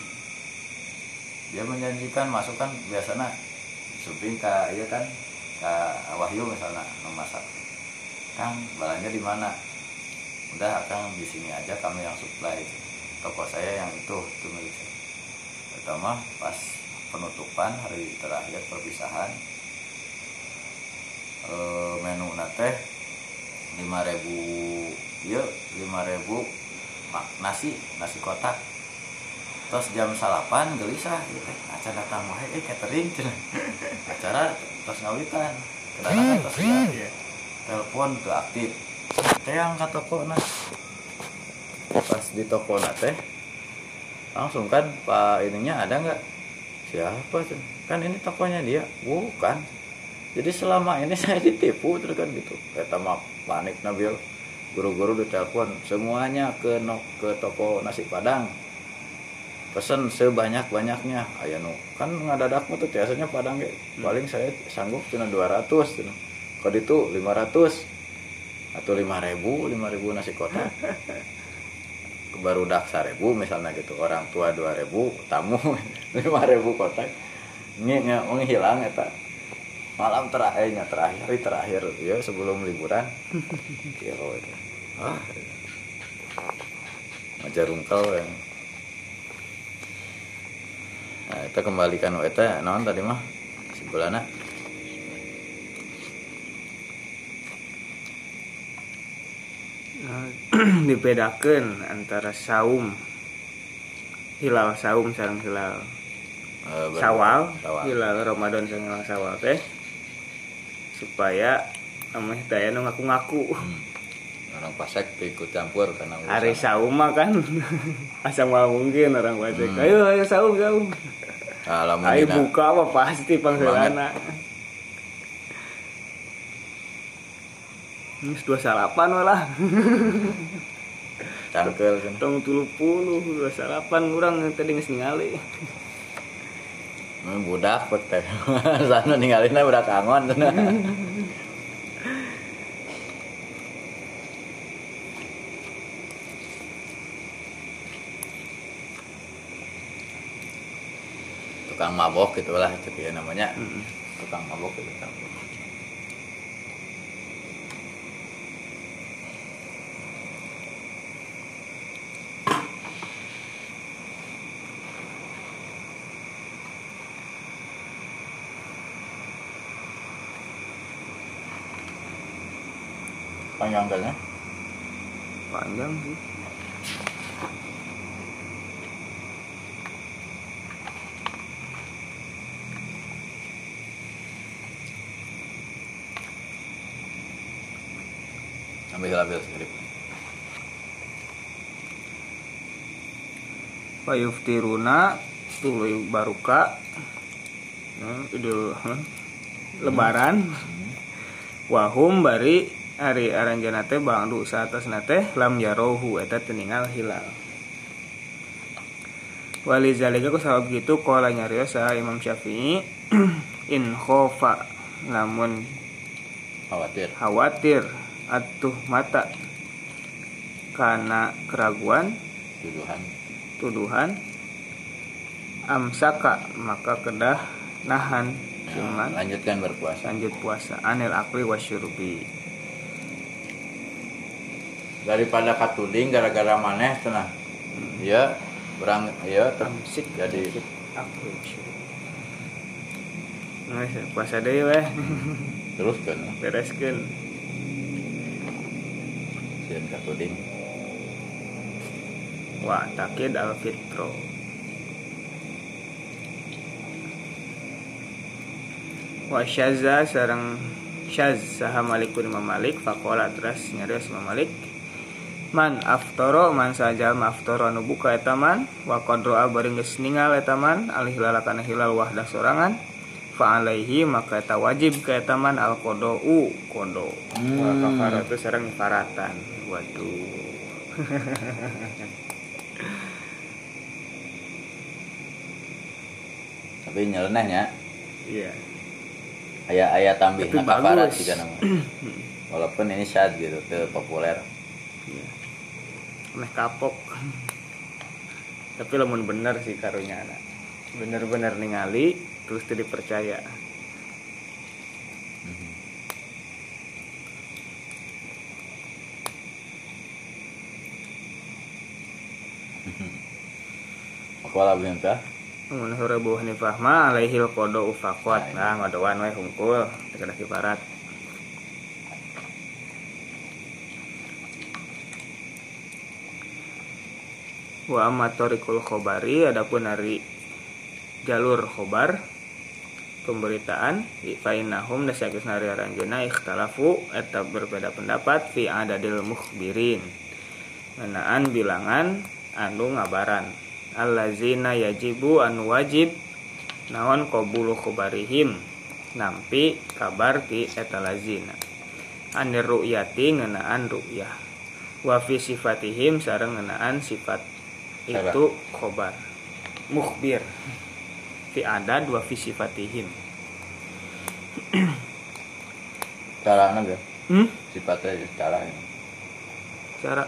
Dia menjanjikan masukan biasanya suping ke iya kan ke Wahyu misalnya memasak, Kang balanya di mana, udah Kang di sini aja kami yang supply, toko saya yang itu itu milik saya. Pertama pas penutupan hari terakhir perpisahan, e, menu nate lima ribu ya lima ribu nasi nasi kotak. Terus jam salapan gelisah gitu, acara datang wae eh catering cenah. Acara terus ngawitan. Kedatangan terus ya. Telepon tuh aktif. Teh angkat toko nah. Pas di toko na teh langsung kan Pak ininya ada nggak? Siapa cenah? Kan ini tokonya dia. Bukan. Jadi selama ini saya ditipu terus kan gitu. Eta mah panik Nabil. Guru-guru ditelepon semuanya ke no, ke toko nasi Padang. Pesen sebanyak-banyaknya aya nu kan ngadadak mah tuh biasanya Padang ge paling saya sanggup cuma dua ratus cenah. Kalau itu lima ratus atau lima ribu lima ribu nasi kotak. Barudak seribu misalnya gitu, orang tua dua ribu, tamu lima ribu kotak. Nge menghilang eta. Malam terakhirnya terakhir hari terakhir ya sebelum liburan. Kilo itu. Ah. Majarungkal yang nah, kita kembalikan eta naon tadi mah sebelana
nah, dibedakan antara saum hilal saum sareng hilal uh, Syawal, hilal Ramadan sareng hilal Syawal teh supaya ameh daya nu ngaku-ngaku. Hmm.
Orang Pasek ikut campur karena
hari saum mah kan asam mal mungkin orang Pasek. Hmm. Ayo ayo saum saum. Ayo buka apa pasti pangheulana. Geus dua salapan we lah.
Cangkel kan.
Tong tilu puluh dua salapan urang tadi geus ningali.
Budak pek teh. Sana ningalina budak angon cenah. Tukang mabok gitulah itu ya namanya. Mm-hmm. Tukang mabok gitu. Panjang kayaknya?
Panjang sih.
Ambil-ambil skrip.
Payuftiruna tuluy baruka. Nah, idul huh? Lebaran. Hmm. Wahum bari ari aranjeunna teh bangdu saatosna teh lam yarohu eta teu ningal hilal. Walizalika ku sabab kitu qala nyarios Imam Syafi'i in khofa lamun
khawatir
khawatir atuh mata karena keraguan
tuduhan
tuduhan amsaka maka kedah nahan cuman
nah, lanjutkan berpuasa
lanjut puasa anil akli wasyurbi
daripada katuding gara-gara maneh cenah hmm. Ya berang ya tersik jadi
akli nah puasa deui weh
teruskeun
bereskeun
sieun katuding
wa takid al fitro wa syazza sareng syaz saha Malikun Imam Malik faqala terus nyarios Imam Malik man aftara man sajal maftara anu buka eta man wa qadra bari geus ningal eta man alih lalakana hilal wahdah sorangan fa alaihi maka eta wajib ka eta man al qadau qada hmm. Wa kafaratu sareng faratan waduh.
tapi nyelenehnya
Iya.
aya-aya tambihna
Tapi
kafarat
bagus.
juga nama. Walaupun ini syad gitu, teu populer.
Iya. Meh kapok. Tapi lamun bener sih karunya anak. Bener-bener ningali terus teu dipercaya.
Wala bintah.
Mun hore Bu Hanifah mah alaihil qada ufaqat. Nah, ngadoan we hungkul teu kada kibarat. Wa amma tariqul khobari, adapun dari jalur khobar pemberitaan fa innahum dasageusna ari aranjeunna ikhtalafu eta berbeda pendapat fi adadil mukhbirin ngenaan bilangan anu ngabaran allazina yajibu anu wajib naon qabulu khobarihim nampi kabar ti eta lazina anir ru'yati ngenaan ru'yah wa fi sifatihim sareng ngenaan sifat itu khobar mukhbir fi adad wa fi sifatihim.
Cara naga.
Hmm?
Sifatnya cara ini.
Cara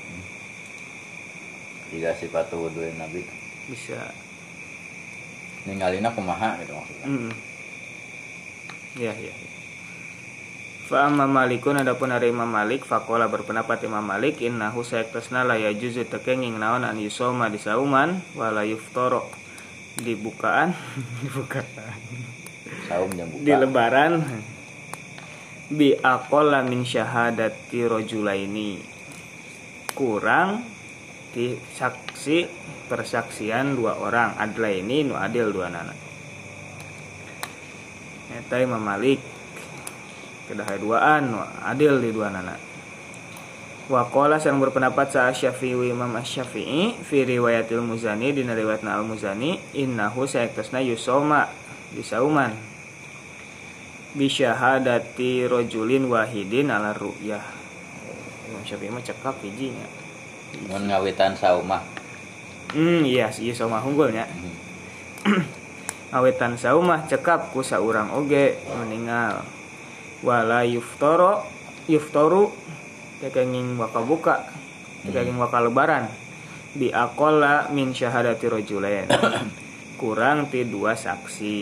Jika sifat wudu Nabi
bisa
ninggalina kumaha gitu maksudnya.
mm. Ya ya. Fa amma Malikun, adapun dari Imam Malik faqala berpendapat Imam Malik innahu sayaktasna la yajuzu tekenging naon an yusoma di sauman wala yuftara di bukaan dibukaan
Saum yang buka.
di lebaran bi aqalla min syahadati rajulaini kurang di saksi persaksian dua orang adla ini nu adil dua nana eta Imam Malik kedah duaan nu adil di dua nana wa qala sareng berpendapat sa Syafi'i Imam Asy-Syafi'i fi riwayatil Muzani dina riwayatna Al-Muzani innahu sayaktasna yusoma disauman bi syahadati rajulin wahidin ala ru'yah. Imam Syafi'i mah cekap hijinya.
Mun ngawitan saumah.
Hmm iya ieu saumah hunggulnya. Awetan saumah cekap ku saurang oge meninggal. Wala yuftara yuftaru tekenging waka buka tekenging waka lebaran bi aqalla min syahadati rajulain kurang ti dua saksi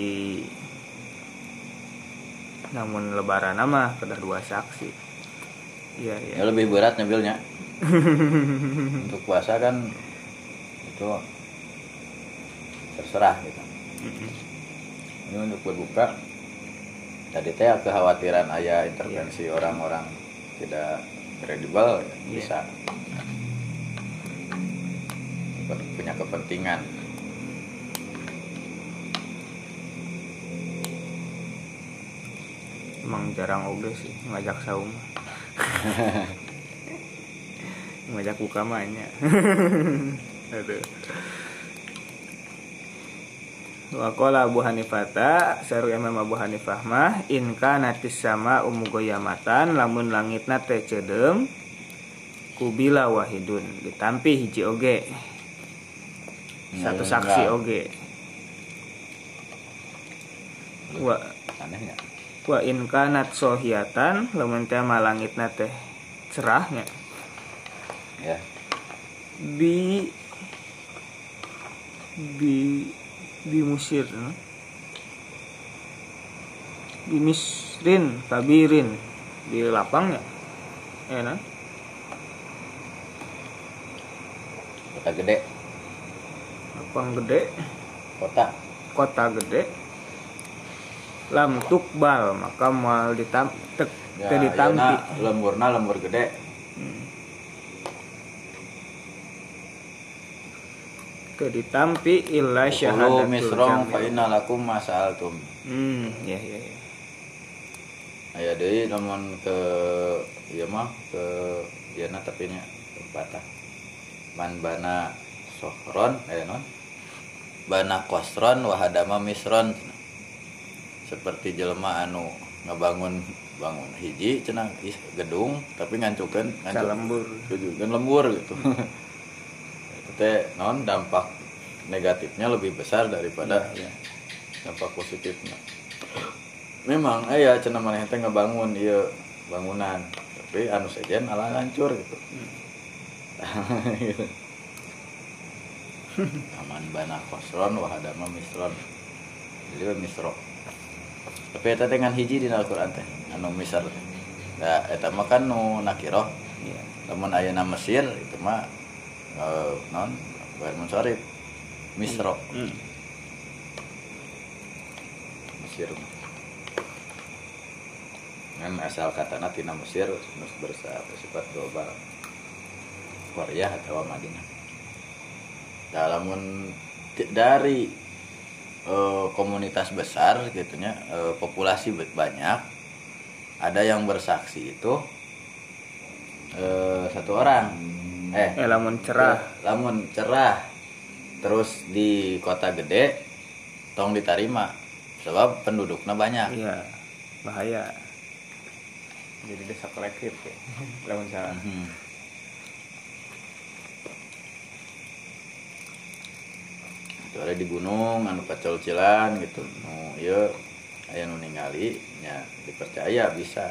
namun lebaran mah kedah dua saksi iya iya
Ya lebih berat ngambilnya. Untuk puasa kan itu terserah gitu. Ini untuk berbuka tadi teh kekhawatiran aya intervensi
yeah.
orang-orang tidak kredibel ya, bisa punya kepentingan.
Emang jarang oge sih ngajak saum ngajak buka mahnya aduh. Wa qala Abu Hanifah saru Imam Abu Hanifah mah in kanatis sama umugoyamatan lamun langitna teh cedeum kubila wahidun ditampi hiji oge satu saksi oge wa
Anehnya.
wa in kanat sohiatan lamun teh mah langitna teh cerahnya
Ya.
bi bi di Mesir di Misrin kabirin di lapangnya enak
Kota gede.
lapang gede
Kota.
kota gede lam tukbal maka mal ditam tek
Ya,
teu ditampi
ayeuna lemburna lembur gede.
teu ditampi illa
Syahadatul
syahadatul
misrong fa
jamil.
inna lakum masa'altum.
Hmm ya ya ya
Aya deui lamun ke ieu mah ke ieu na tapi nya batah. Man bana sohron aya non. Bana qasron wa hadama misron. Seperti jelema anu ngabangun bangun hiji cenah gedung tapi ngancukeun
lembur
ngancukeun lembur gitu. Itu teh non dampak negatifnya lebih besar daripada
ya, ya.
dampak positifnya memang aya cenah maneh teh ngebangun ieu bangunan tapi anu sejen alah hancur gitu. Gitu. Aman bana khosron wa hadama misron. Jadi misro. Tapi eta teh ngan hiji dina Al-Qur'an teh anu misar teh. Da eta mah kan nu nakirah.
Iya.
Lamun ayeuna Mesir itu mah eh non bae munsharif misro.
Hmm.
Mesir. Kan asal katana tina Mesir nus bersifat global. Korea atau Madinah. Dalamun dari e, komunitas besar gitunya, e, populasi banyak, ada yang bersaksi itu e, satu orang. Eh,
eh lamun cerah,
lamun cerah. Terus di kota gede tong diterima sebab penduduknya banyak.
iya bahaya. Jadi desa kolektif ya. Lamun salah.
Hmm. Itu ada di gunung anu pacol-cilan gitu. Nu ieu aya nu ningali nya dipercaya bisa.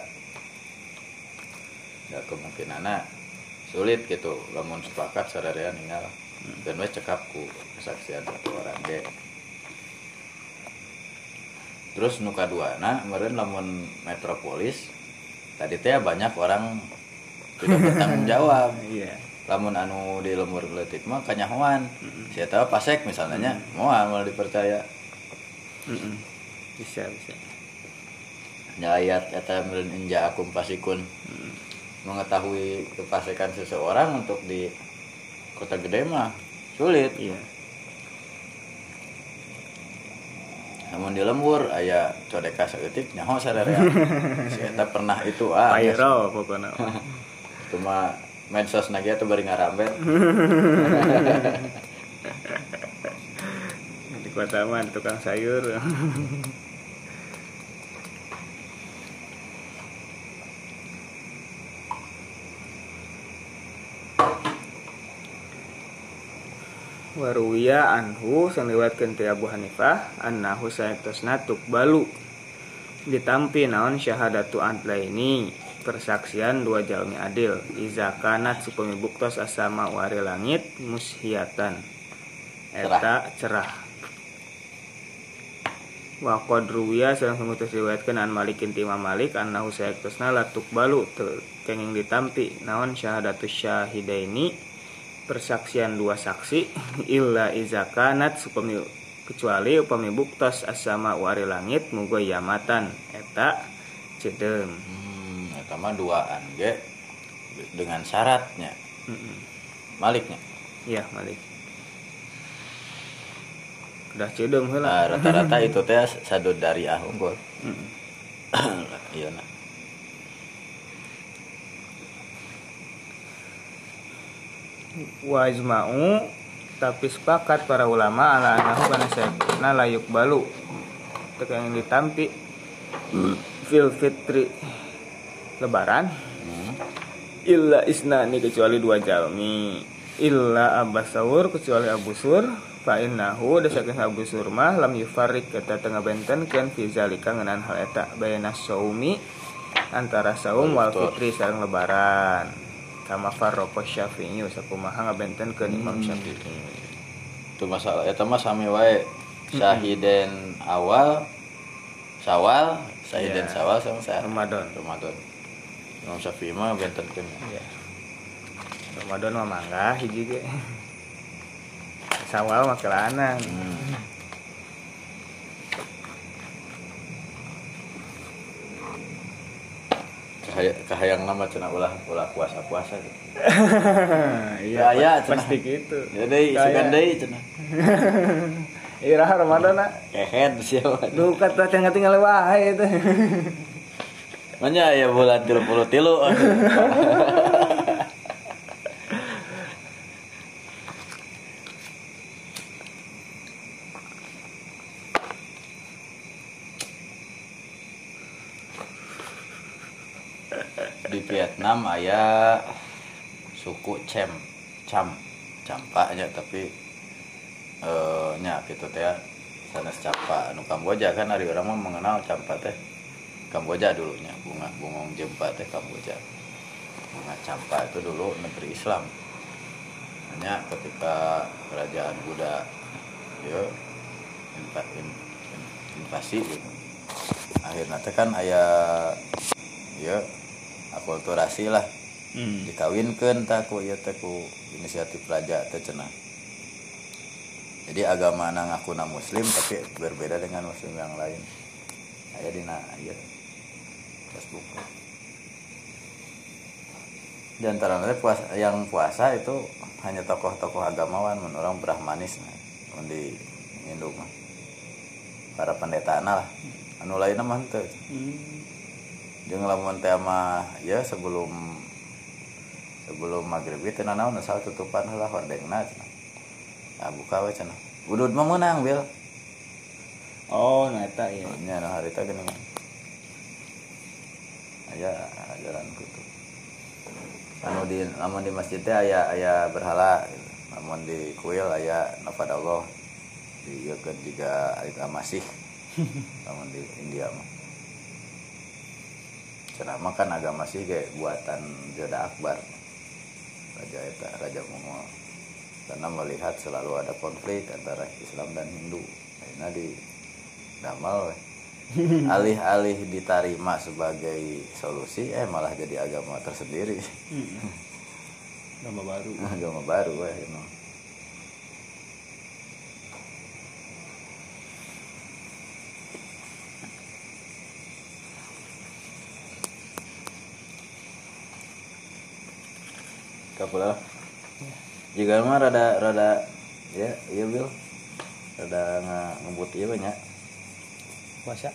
Ya kemungkinanna sulit gitu lamun sepakat sadarea ninggal. Dan we cekap ku kesaksian satu orang ge. Terus nu kaduana meureun lamun metropolis tadi teh banyak orang tidak bertanggung jawab.
Iya.
Lamun anu di lembur leutik mah kanyahoan. Mm-hmm. Saya tahu pasek misalnya, mm-hmm. moal malah dipercaya.
Mm-hmm. Bisa bisa.
Nya ayat eta meureun inja akum pasikun. Mm-hmm. Mengetahui kepasekan seseorang untuk di kota gede mah sulit.
Iya.
Namun di lembur aya codeka saeutik nyaho sadarea. Saya pernah itu ah.
Viral pokoknya.
Itu mah medsos nage atuh bari ngarambet.
Di kota mah tukang sayur. Waruwiya anhu sang riwayatkeun ti Abu Hanifah annahu sayatosna tuqbalu ditampi naon syahadatu adlaini persaksian dua jalmi adil iza kanat supami buktos asama wari langit mushiatan eta cerah wa qad ruwiya sareng sumutus riwayatkeun an Malikin ti Imam Malik annahu sayatosna la tuqbalu kenging ditampi naon syahadatu syahidaini persaksian dua saksi illa iza kanat supami kecuali upami buktos asama wari langit muga yamatan eta cedeum.
Hmm, eta mah duaan ge dengan syaratnya.
Heeh.
Maliknya.
Iya, Malik. Udah cedeum heula.
Nah, rata-rata itu teh sadodari ah unggul.
Heeh.
Iya nah.
Wa ijma'u tapi sepakat para ulama ala annahu kana sayna layuk balu tekan ditampi fil fitri lebaran hmm. illa isnani kecuali dua jalmi illa abasaur kecuali Abu Sur fa innahu dasakeun Abu Sur mah lam yufarriq eta tengah benten keun fi zalika ngeunaan hal eta bayna saumi antara saum wal fitri sareng lebaran kama farraqo Syafi'i sakumaha ngabentenkeun Imam Syafi'i.
Itu masalah eta mah sami wae syahiden awal Syawal, syahiden yeah. Syawal sama saya
Ramadan.
Ramadan. Imam Syafi'i mah bentenkeun.
Iya. Ramadan mah mangga hiji ge. Syawal mah kelana. Hmm.
Kahayang nama cenah ulah ulah puasa-puasa gitu.
Iya,
ya,
pasti gitu.
Jadi sugan deui cenah.
Iraha Ramadan na.
Kehet siapa.
Duh kata tinggal-tinggal wae teh.
Manya aya bulan tilu puluh tilu. Di Vietnam aya suku Cem, Cam, Campaknya tapi eh nya gitu teh sanes campa anu Kamboja kan hari orang mah mengenal campa teh Kamboja dulunya bunga bungong jempa teh Kamboja. Bunga campa itu dulu negeri Islam. Hanya ketika kerajaan Buddha ya invasi gitu. Akhirnya teh kan aya ya akulturasi lah. Hmm. Dikawinkeun tah ku ieu teh ku inisiatif raja teh cenah. Jadi agama na ngakuna muslim tapi berbeda dengan muslim yang lain. Aya dina aya Facebook. Di antara puasa, yang puasa itu hanya tokoh-tokoh agamawan, mun orang Brahmanis nah, mun di Hindu mah. Para pendetana lah. Anu lainna mah henteu. Hmm. Jeung lamun teh mah ya sebelum sebelum maghrib teh nanaon asal tutupan heula hordengna cenah. Ah buka we cenah. Udud mah meunang bil.
Oh, nah eta ya.
Nya nah harita geuning. Aya ajaran kitu. Anu di lamun di masjid teh aya aya berhala gitu. Lamun di kuil aya nafadallah. Di ieu kan juga aya masih. Lamun di India mah. Cenah mah kan agama sih ge buatan Jodha Akbar. Raja eta Raja Mongol. Karena melihat selalu ada konflik antara Islam dan Hindu. Akhirnya di damal we. Alih-alih diterima sebagai solusi eh malah jadi agama tersendiri.
Agama baru.
Agama baru we you know. Kapula. Jika mah rada rada ya iya bil rada ngebut ieu banyak
puasa